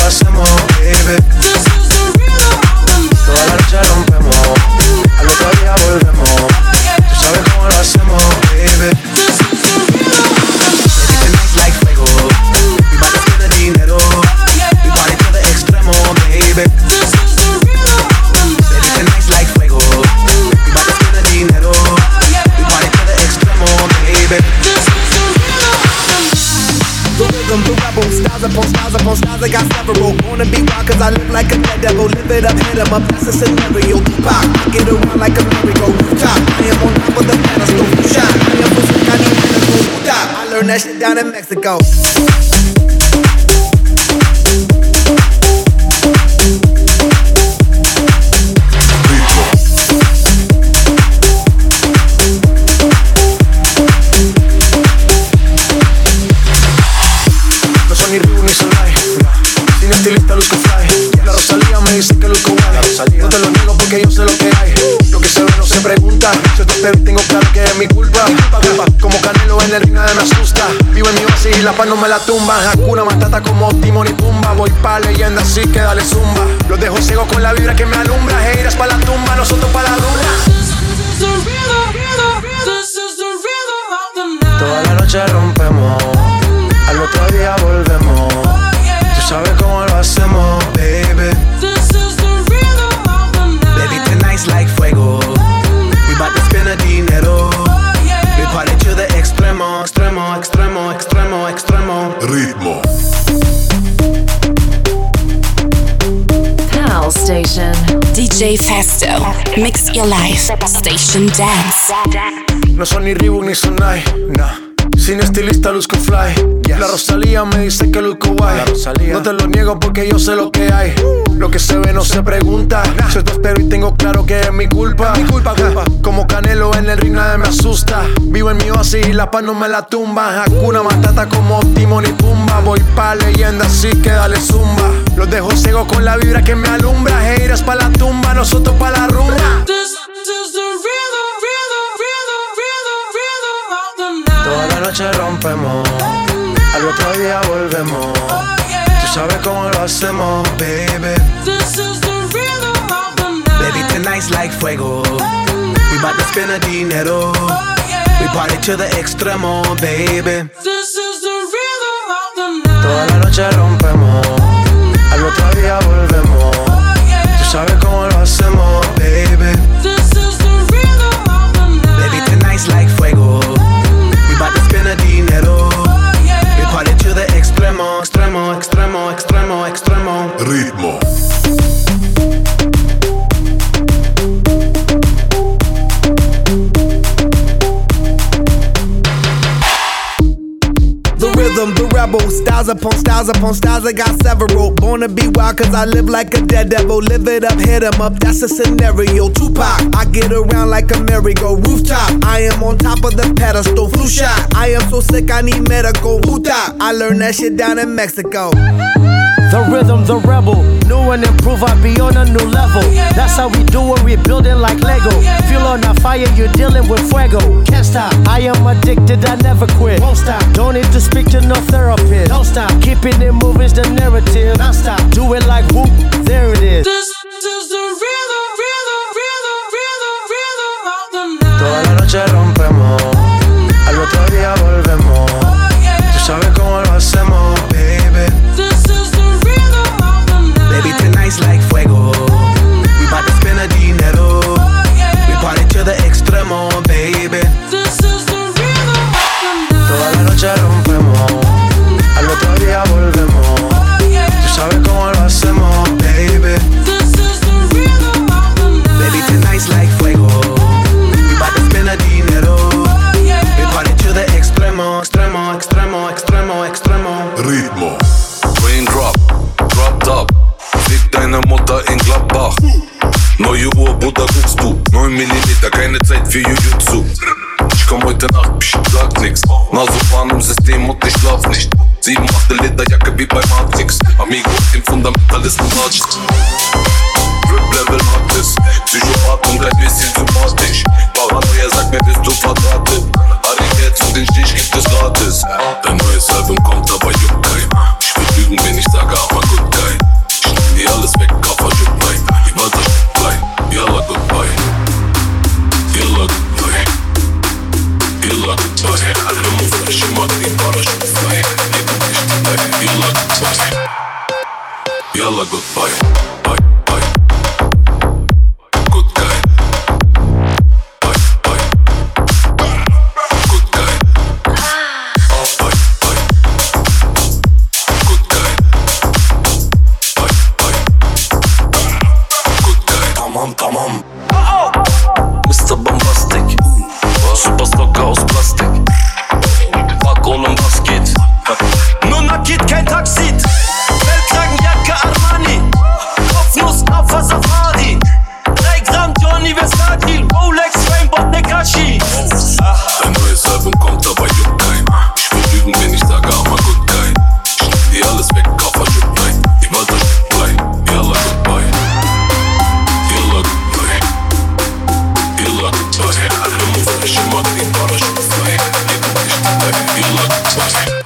Speaker 17: hacemos, baby. Toda la noche rompemos, al otro día volvemos. Tú sabes cómo lo hacemos, baby. Baby, tonight's like fuego. We bout to spend the dinero. We party to the extremo, baby. Baby, tonight's like fuego. We bout to spend the dinero. We party to the extremo, baby. The rhythm, the rebel, styles upon styles upon styles, I got several. Wanna be wild cause I live like a dead devil. Live it up, hit 'em up, that's a scenario. Tupac, I get around like a merry-go rooftop. I am on top of the pedestal, shot. I am pushing, I need medical. Stop, I learned that shit down in Mexico. Ni Reebok ni Solay, sin estilista luzco fly. La Rosalía me dice que luzco guay. No te lo niego porque yo sé lo que hay. Lo que se ve no se pregunta. Si esto te vi tengo claro que es mi culpa. Como Canelo en el ring nadie me asusta. Vivo en mi oasis y la paz no me la tumba. Hakuna Matata como Timon y Pumba. Voy pa' leyenda así que dale zumba. Los dejo ciego con la vibra que me alumbra. Heiras pa' la tumba, nosotros pa' la rumba. Toda la noche rompemos, al otro día volvemos. Tú sabes cómo lo hacemos, baby. Baby, tonight's like fuego. We bout to spend the dinero. We party to the extremo, extremo, extremo, extremo, extremo.
Speaker 15: Ritmo.
Speaker 10: Pal Station.
Speaker 1: D J Festo, mix your life, Station Dance.
Speaker 17: No son ni Reebok ni Sonai, nah. Sin estilista luzco fly, yes. La Rosalía me dice que luzco guay. No te lo niego porque yo sé lo que hay. Lo que se ve no se pregunta. Nah. Si esto espero y tengo claro que es mi culpa, mi culpa, culpa. Como Canelo en el ring nadie me asusta. Vivo en mi oasis y la paz no me la tumba. Hakuna Matata como Timon y Pumba. Voy pa' leyenda así que dale zumba. Los dejo ciego con la vibra que me alumbra. Heiras pa' la tumba, nosotros pa' la rumba. Toda la noche rompemos, al otro día volvemos. Tú sabes cómo lo hacemos, baby. Baby, tonight's like fuego. We bout to spend the dinero. We party to the extremo, baby. Toda la noche rompemos, al otro día volvemos. Tú sabes cómo lo hacemos, baby. Baby, tonight's like fuego. We bout to spend the dinero. We party to the extremo, extremo, extremo, extremo, extremo.
Speaker 15: Ritmo.
Speaker 17: The rhythm, the rebel, styles upon styles upon styles, I got several. Born to be wild cause I live like a dead devil. Live it up, hit 'em up, that's a scenario. Tupac, I get around like a merry-go rooftop. I am on top of the pedestal, flu shot. I am so sick I need medical. Hootah, I learned that shit down in Mexico.
Speaker 3: The rhythm, the rebel, new and improve, I be on a new level. That's how we do it, we building like Lego. Feel on a fire, you're dealing with fuego. Can't stop, I am addicted, I never quit. Won't stop, don't need to speak to no therapist. Don't stop, keeping it moving's the narrative. Non stop, do it like whoop, there it is. This is the rhythm, rhythm, rhythm, rhythm, rhythm of the night.
Speaker 17: Toda la noche rompemos, al otro día volvemos. Tú sabes cómo lo hacemos, baby. Baby, tonight's like fuego. We bout to spend the dinero. We party to the extremo, baby. Toda la noche rompemos, al otro día volvemos. Tú sabes cómo lo hacemos, baby. Baby, tonight's like fuego. We bout to spend the dinero. We party to the extremo, extremo, extremo, extremo, extremo.
Speaker 15: Ritmo.
Speaker 22: Raindrop, drop top. Fick deine Mutter in Gladbach. Neue Uhr, Buddha guckst du. Neun Millimeter, keine Zeit für Jujutsu. Ich komm heute Nacht, psch, sag nix. Nasopan im System und ich schlaf nicht. Sieben achte Lederjacke wie bei Matrix. Amigo, den Fundamentalisten watscht. Rip-Level Artist. Psychopath und ein bisschen sympathisch. Paranoia sagt mir, bist du verdrahtet. Harry Geld zu den Stich gibt es gratis. Dein neues Album kommt, aber juckt kein. Ich will lügen, wenn ich sage, aber gut geil. goodbye. Alnımı taşımak parachute fly. Yalla goodbye. Yalla goodbye. Bye bye. Good guy. Bye bye. Good guy. Oh bye bye. Good guy. Bye bye. Good guy. Tamam tamam. mister Bombastic. Superstar Chaos Plastik. Bak oğlum bas git. Nur nakit kein Taksit. Weltkragenjacke Armani. Kopfnuss Kafa Safari. drei Gramm Johnny Versace. Rolex Rainbow Nekashi. Ein neues Album kommt, aber juckt kein. Ich will lügen, wenn ich sage, aber good guy. Ich nehm dir alles weg, Koffer juckt nein. Die Walter steckt klein. Yalla goodbye. Yalla goodbye. Yalla goodbye. Alnımı taşımak parachute fly. Yalla goodbye.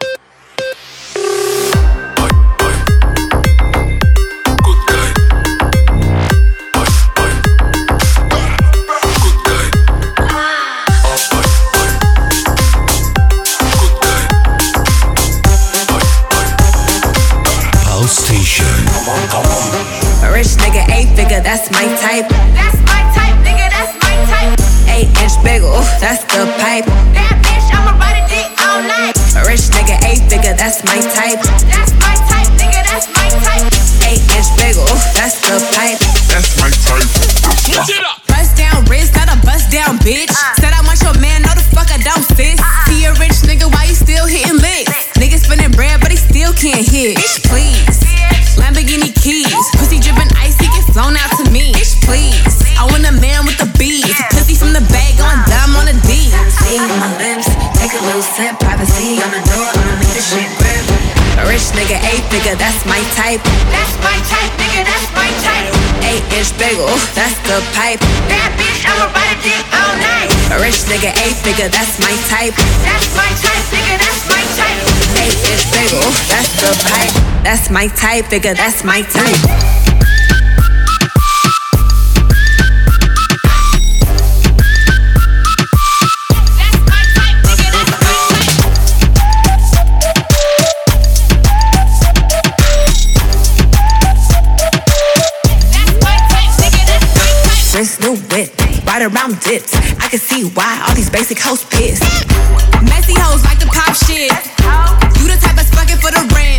Speaker 2: A rich nigga, eight figure, that's my type. That's my type, nigga, that's my type. Eight inch bagel, that's the pipe. That bitch, I'ma ride a dick all night. A rich nigga, eight figure, that's my type. That's my type, nigga, that's my type. Eight inch bagel, that's the pipe.
Speaker 11: That's my type.
Speaker 2: Switch it up. Bust down wrist, not a bust down bitch. Uh. Said I want your man, no the fuck I don't, sis. Uh. See a rich nigga, why you still hitting licks? Nigga spinning bread, but he still can't hit. Bitch, please. Lamborghini keys, pussy dripping ice, he get flown out to me. Bitch, please. I want a man with the bees, pussy from the bag, going dumb on the D. See my lips, take a little sip, privacy on the door, I'ma make this shit grip. A rich nigga, eight figure, that's my type. That's my type, nigga, that's my type. Eight inch bagel, that's the pipe. That bitch, I'ma ride a dick all night. A rich nigga, eight figure, that's my type. That's my type, nigga, that's my type. Eight inch bagel, that's the pipe. That's my type, figure, that's my type. Wrist, new whip, right around dips. I can see why all these basic hoes pissed. Messy hoes like to pop shit. You the type that's fucking for the rent.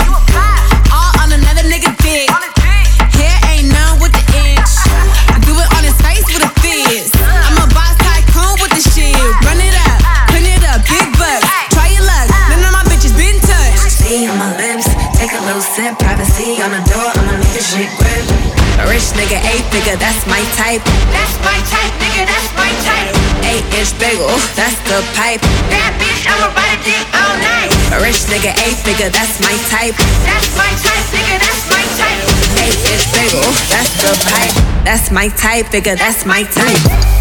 Speaker 2: All on another nigga dick. Hair ain't none with the inch. I do it on his face with a fizz. I'm a boss tycoon with the shit. Run it up, put it up, big bucks. Try your luck, none of my bitches been touched. See on my lips, take a little sip. Privacy on the door, I'ma make this shit grip. A rich nigga, eight figure, that's my type. That's my type, nigga, that's my type. Eight inch bagel, that's the pipe. That bitch, I'ma ride a dick all night. A rich nigga, eight figure, that's my type. That's my type, nigga, that's my type. Eight inch bagel, that's the pipe. That's my type, figure, that's my type.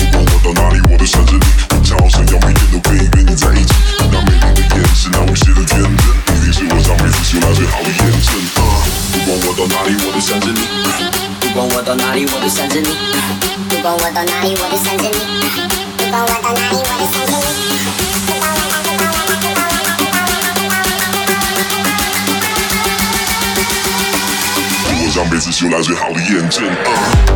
Speaker 11: Shit
Speaker 5: 不管我到哪里，我都想着你。不管我到哪里，我都想着你。不管我到哪里，我都想着你。
Speaker 11: 我上辈子修来最好的验证。啊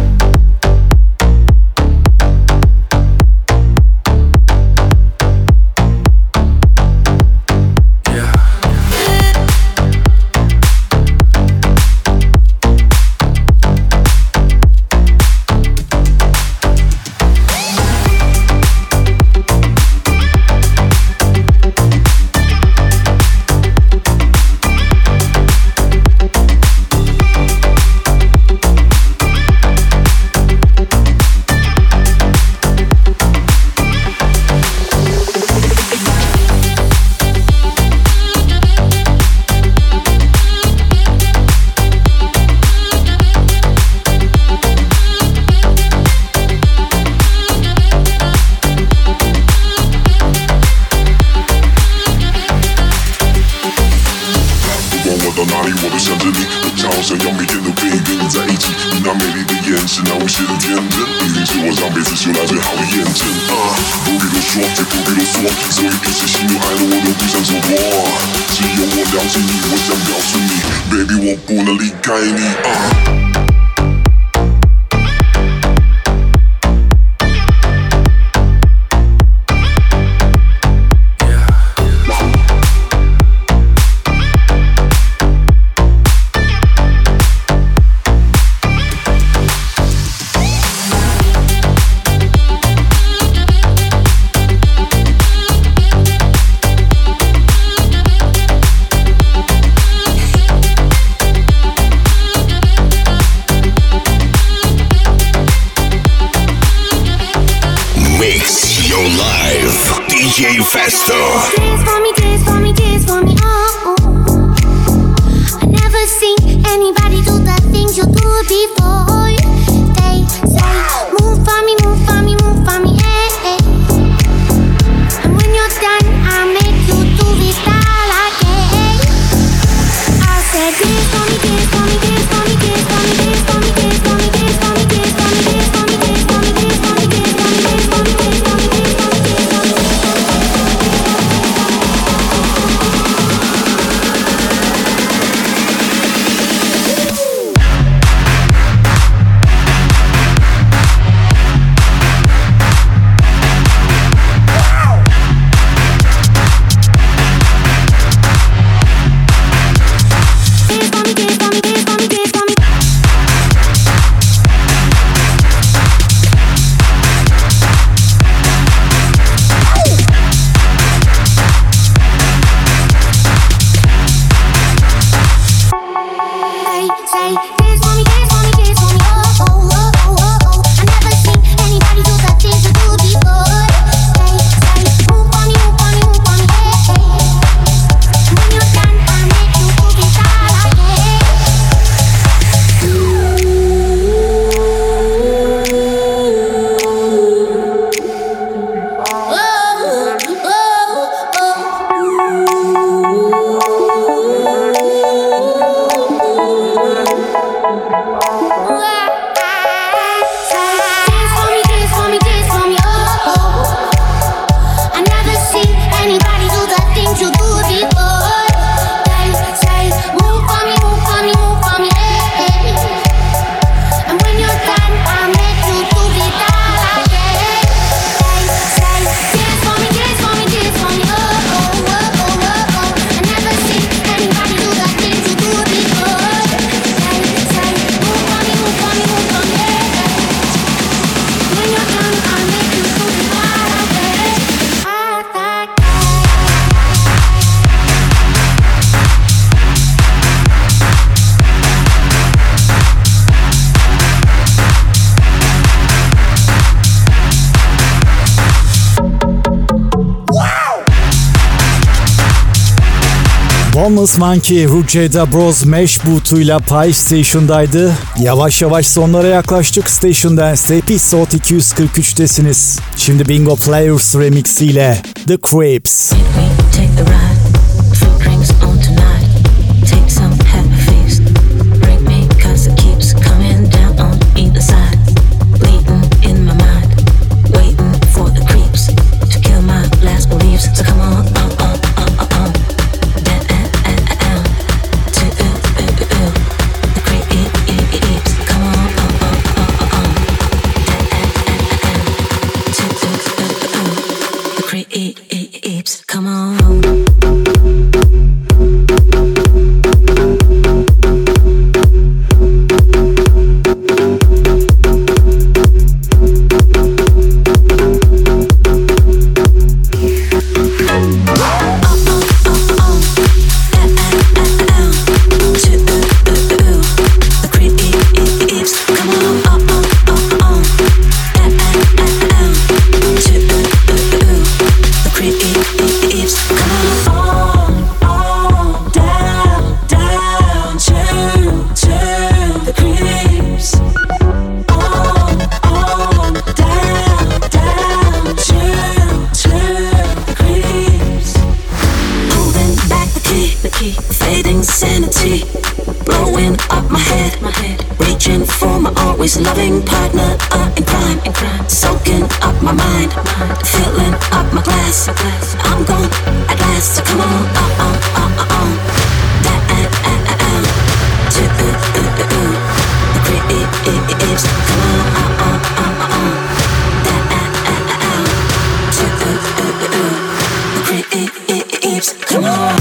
Speaker 8: Homeless Monkey, Ruggieda Bros Mesh bootuyla Pie Station'daydı. Yavaş yavaş sonlara yaklaştık. Station Dance'de Episode iki yüz kırk üç'tesiniz. Şimdi Bingo Players remixiyle The Creeps.
Speaker 6: Take the ride, fruit drinks on tonight. Take some, have a feast. Break me, cause it keeps coming. for my always loving partner uh, in crime, in crime. Soaking up my mind, filling up my glass. I'm gone at last, so come on, uh, uh, uh, uh, uh. That, uh, uh, uh, uh. To, uh, uh, uh, uh. The creeps, come on, uh, uh, uh, uh, uh. That, uh, uh, uh, uh. To, uh, uh, uh, uh. The creeps, come on.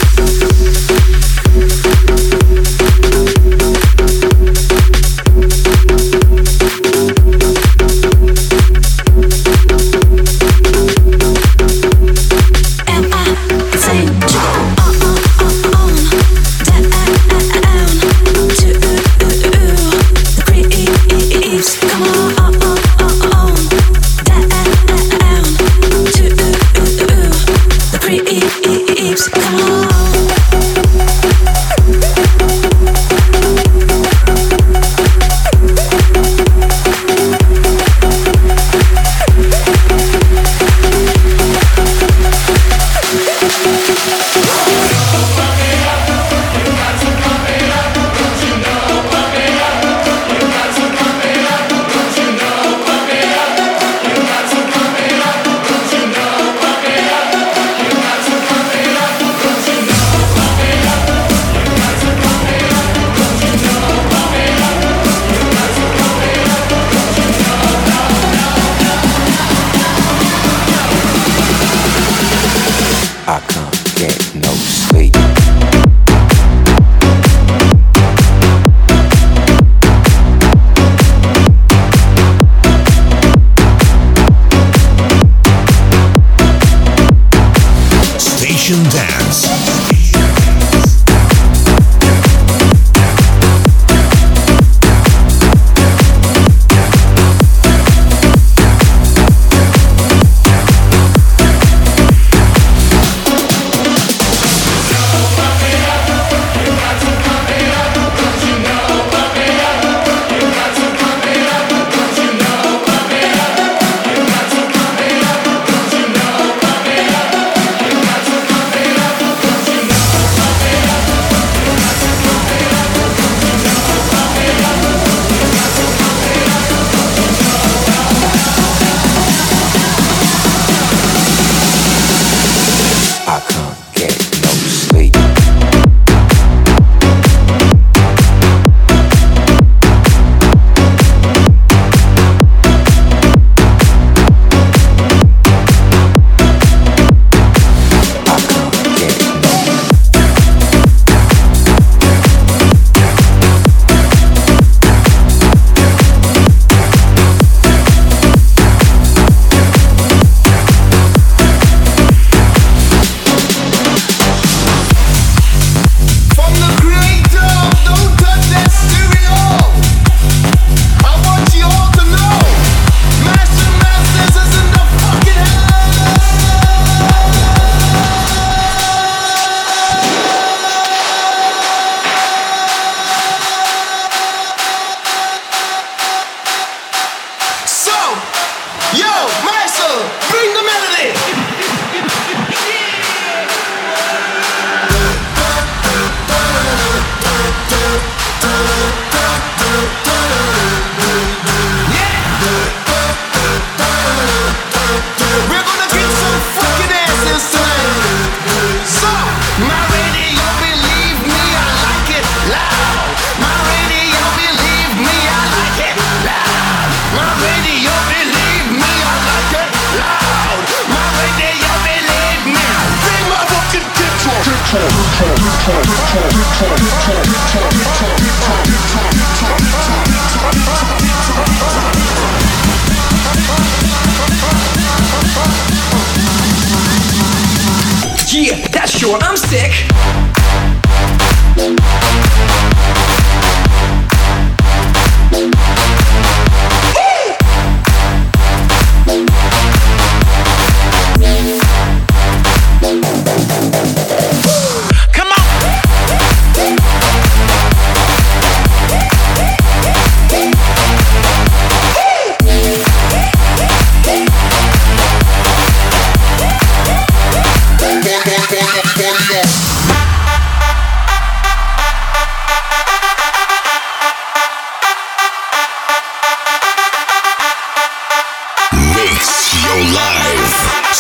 Speaker 7: Yeah, that's sure, I'm sick.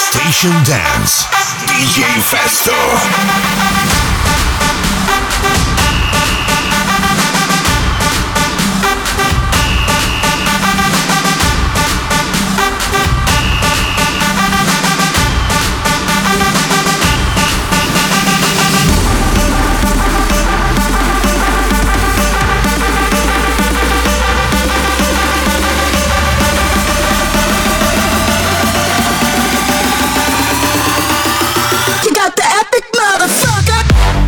Speaker 15: Station Dance. D J Festo.
Speaker 9: You got the epic motherfucker.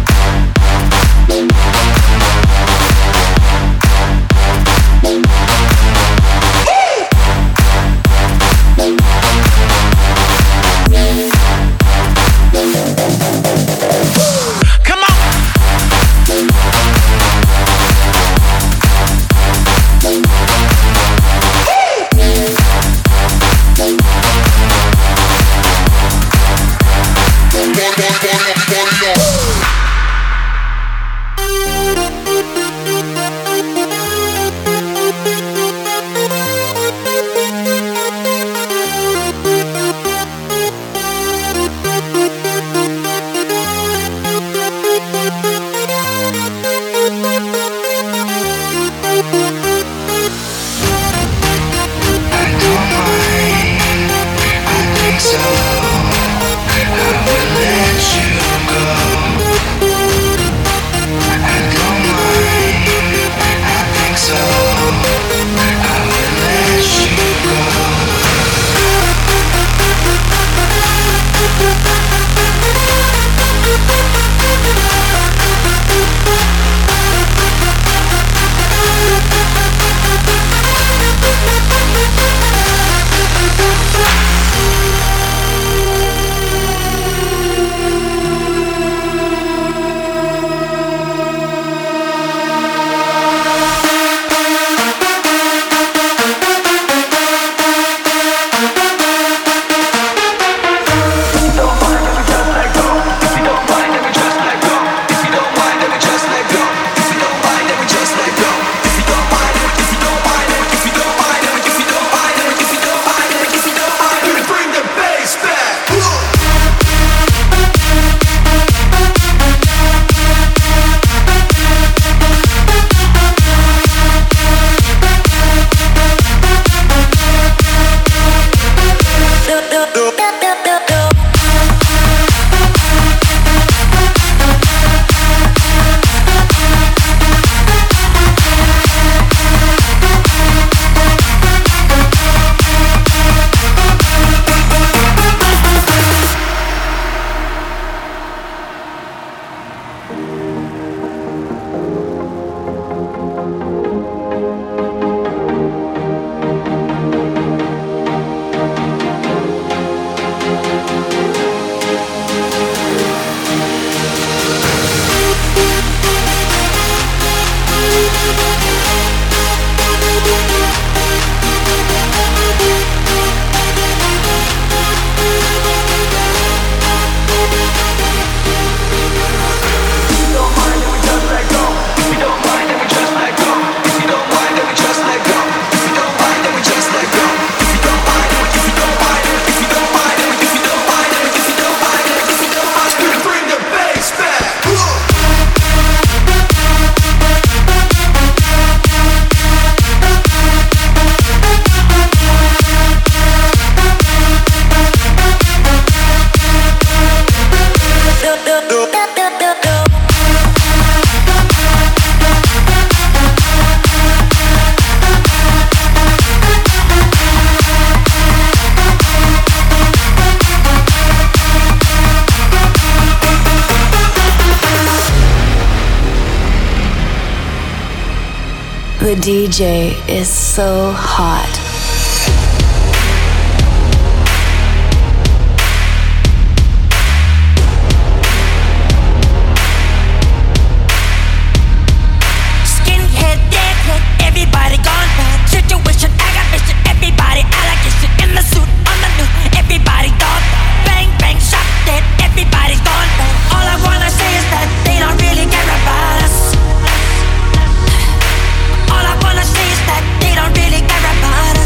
Speaker 9: The D J is so hot.
Speaker 6: Everybody gone bad. Situation, aggravation. Everybody allegation. In the suit, on the news. Everybody gone bad. Bang, bang, shot dead. Everybody's gone bad. All I wanna say is that they don't really care about us. All I wanna say is that they don't really care about us.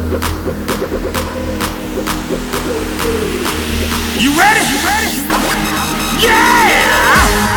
Speaker 12: You ready? You ready? Yeah!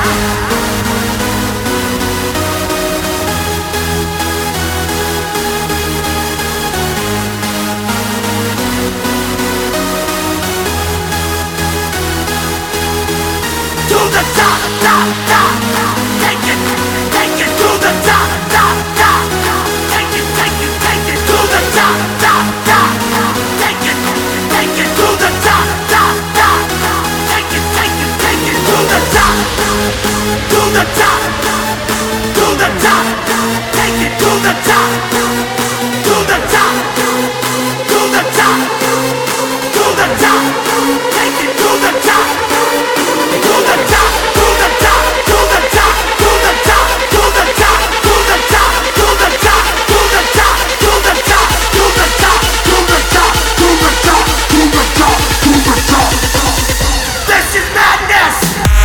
Speaker 12: To the top, top, top. Take it, take it to the top, top, top. Take it, take it, take it to the top, top, top. Take it, take it to the top, top, top. Take it, take it, take it to the top, to the top, to the top. Take it to the top, to the top, to the top, to the top. Take it to the top. To the top, to the top, to the top, to the top, to the top, to the top, to the top, to the top, to the top, to the top, to the top, to the top, to the top, to the top. This is madness.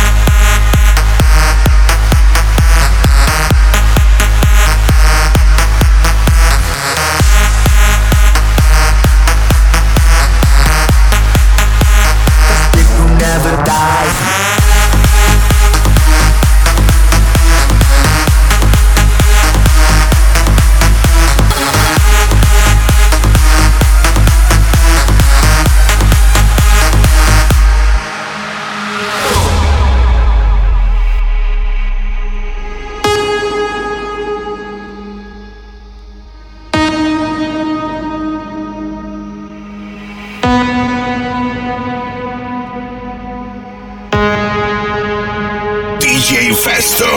Speaker 4: People never die.
Speaker 15: D J Festo.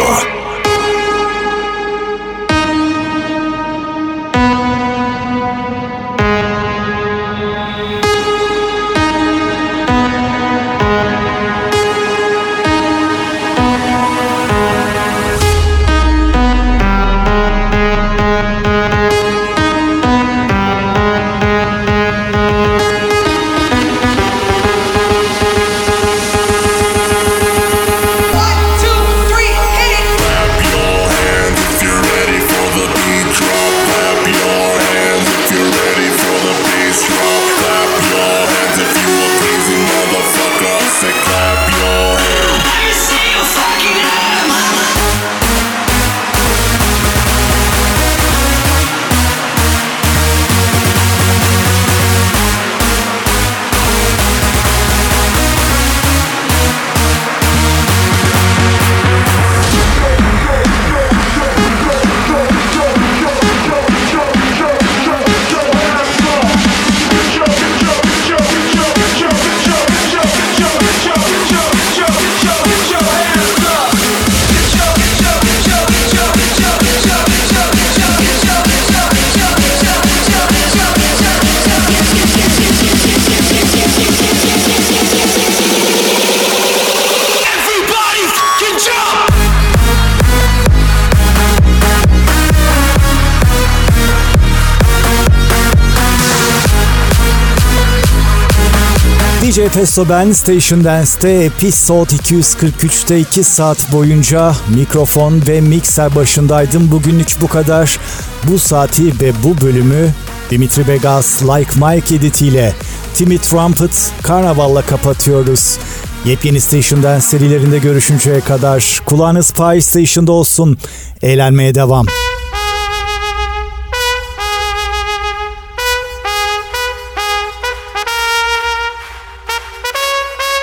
Speaker 8: D J Festo ben, Station Dance'te Episode iki yüz kırk üçte iki saat boyunca mikrofon ve mikser başındaydım. Bugünlük bu kadar. Bu saati ve bu bölümü Dimitri Vegas Like Mike editiyle, Timmy Trumpet Karnaval'la kapatıyoruz. Yepyeni Station Dance serilerinde görüşünceye kadar kulağınız Pie Station'da olsun. Eğlenmeye devam.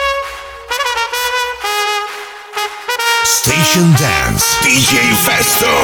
Speaker 15: Station Dance, D J Festo.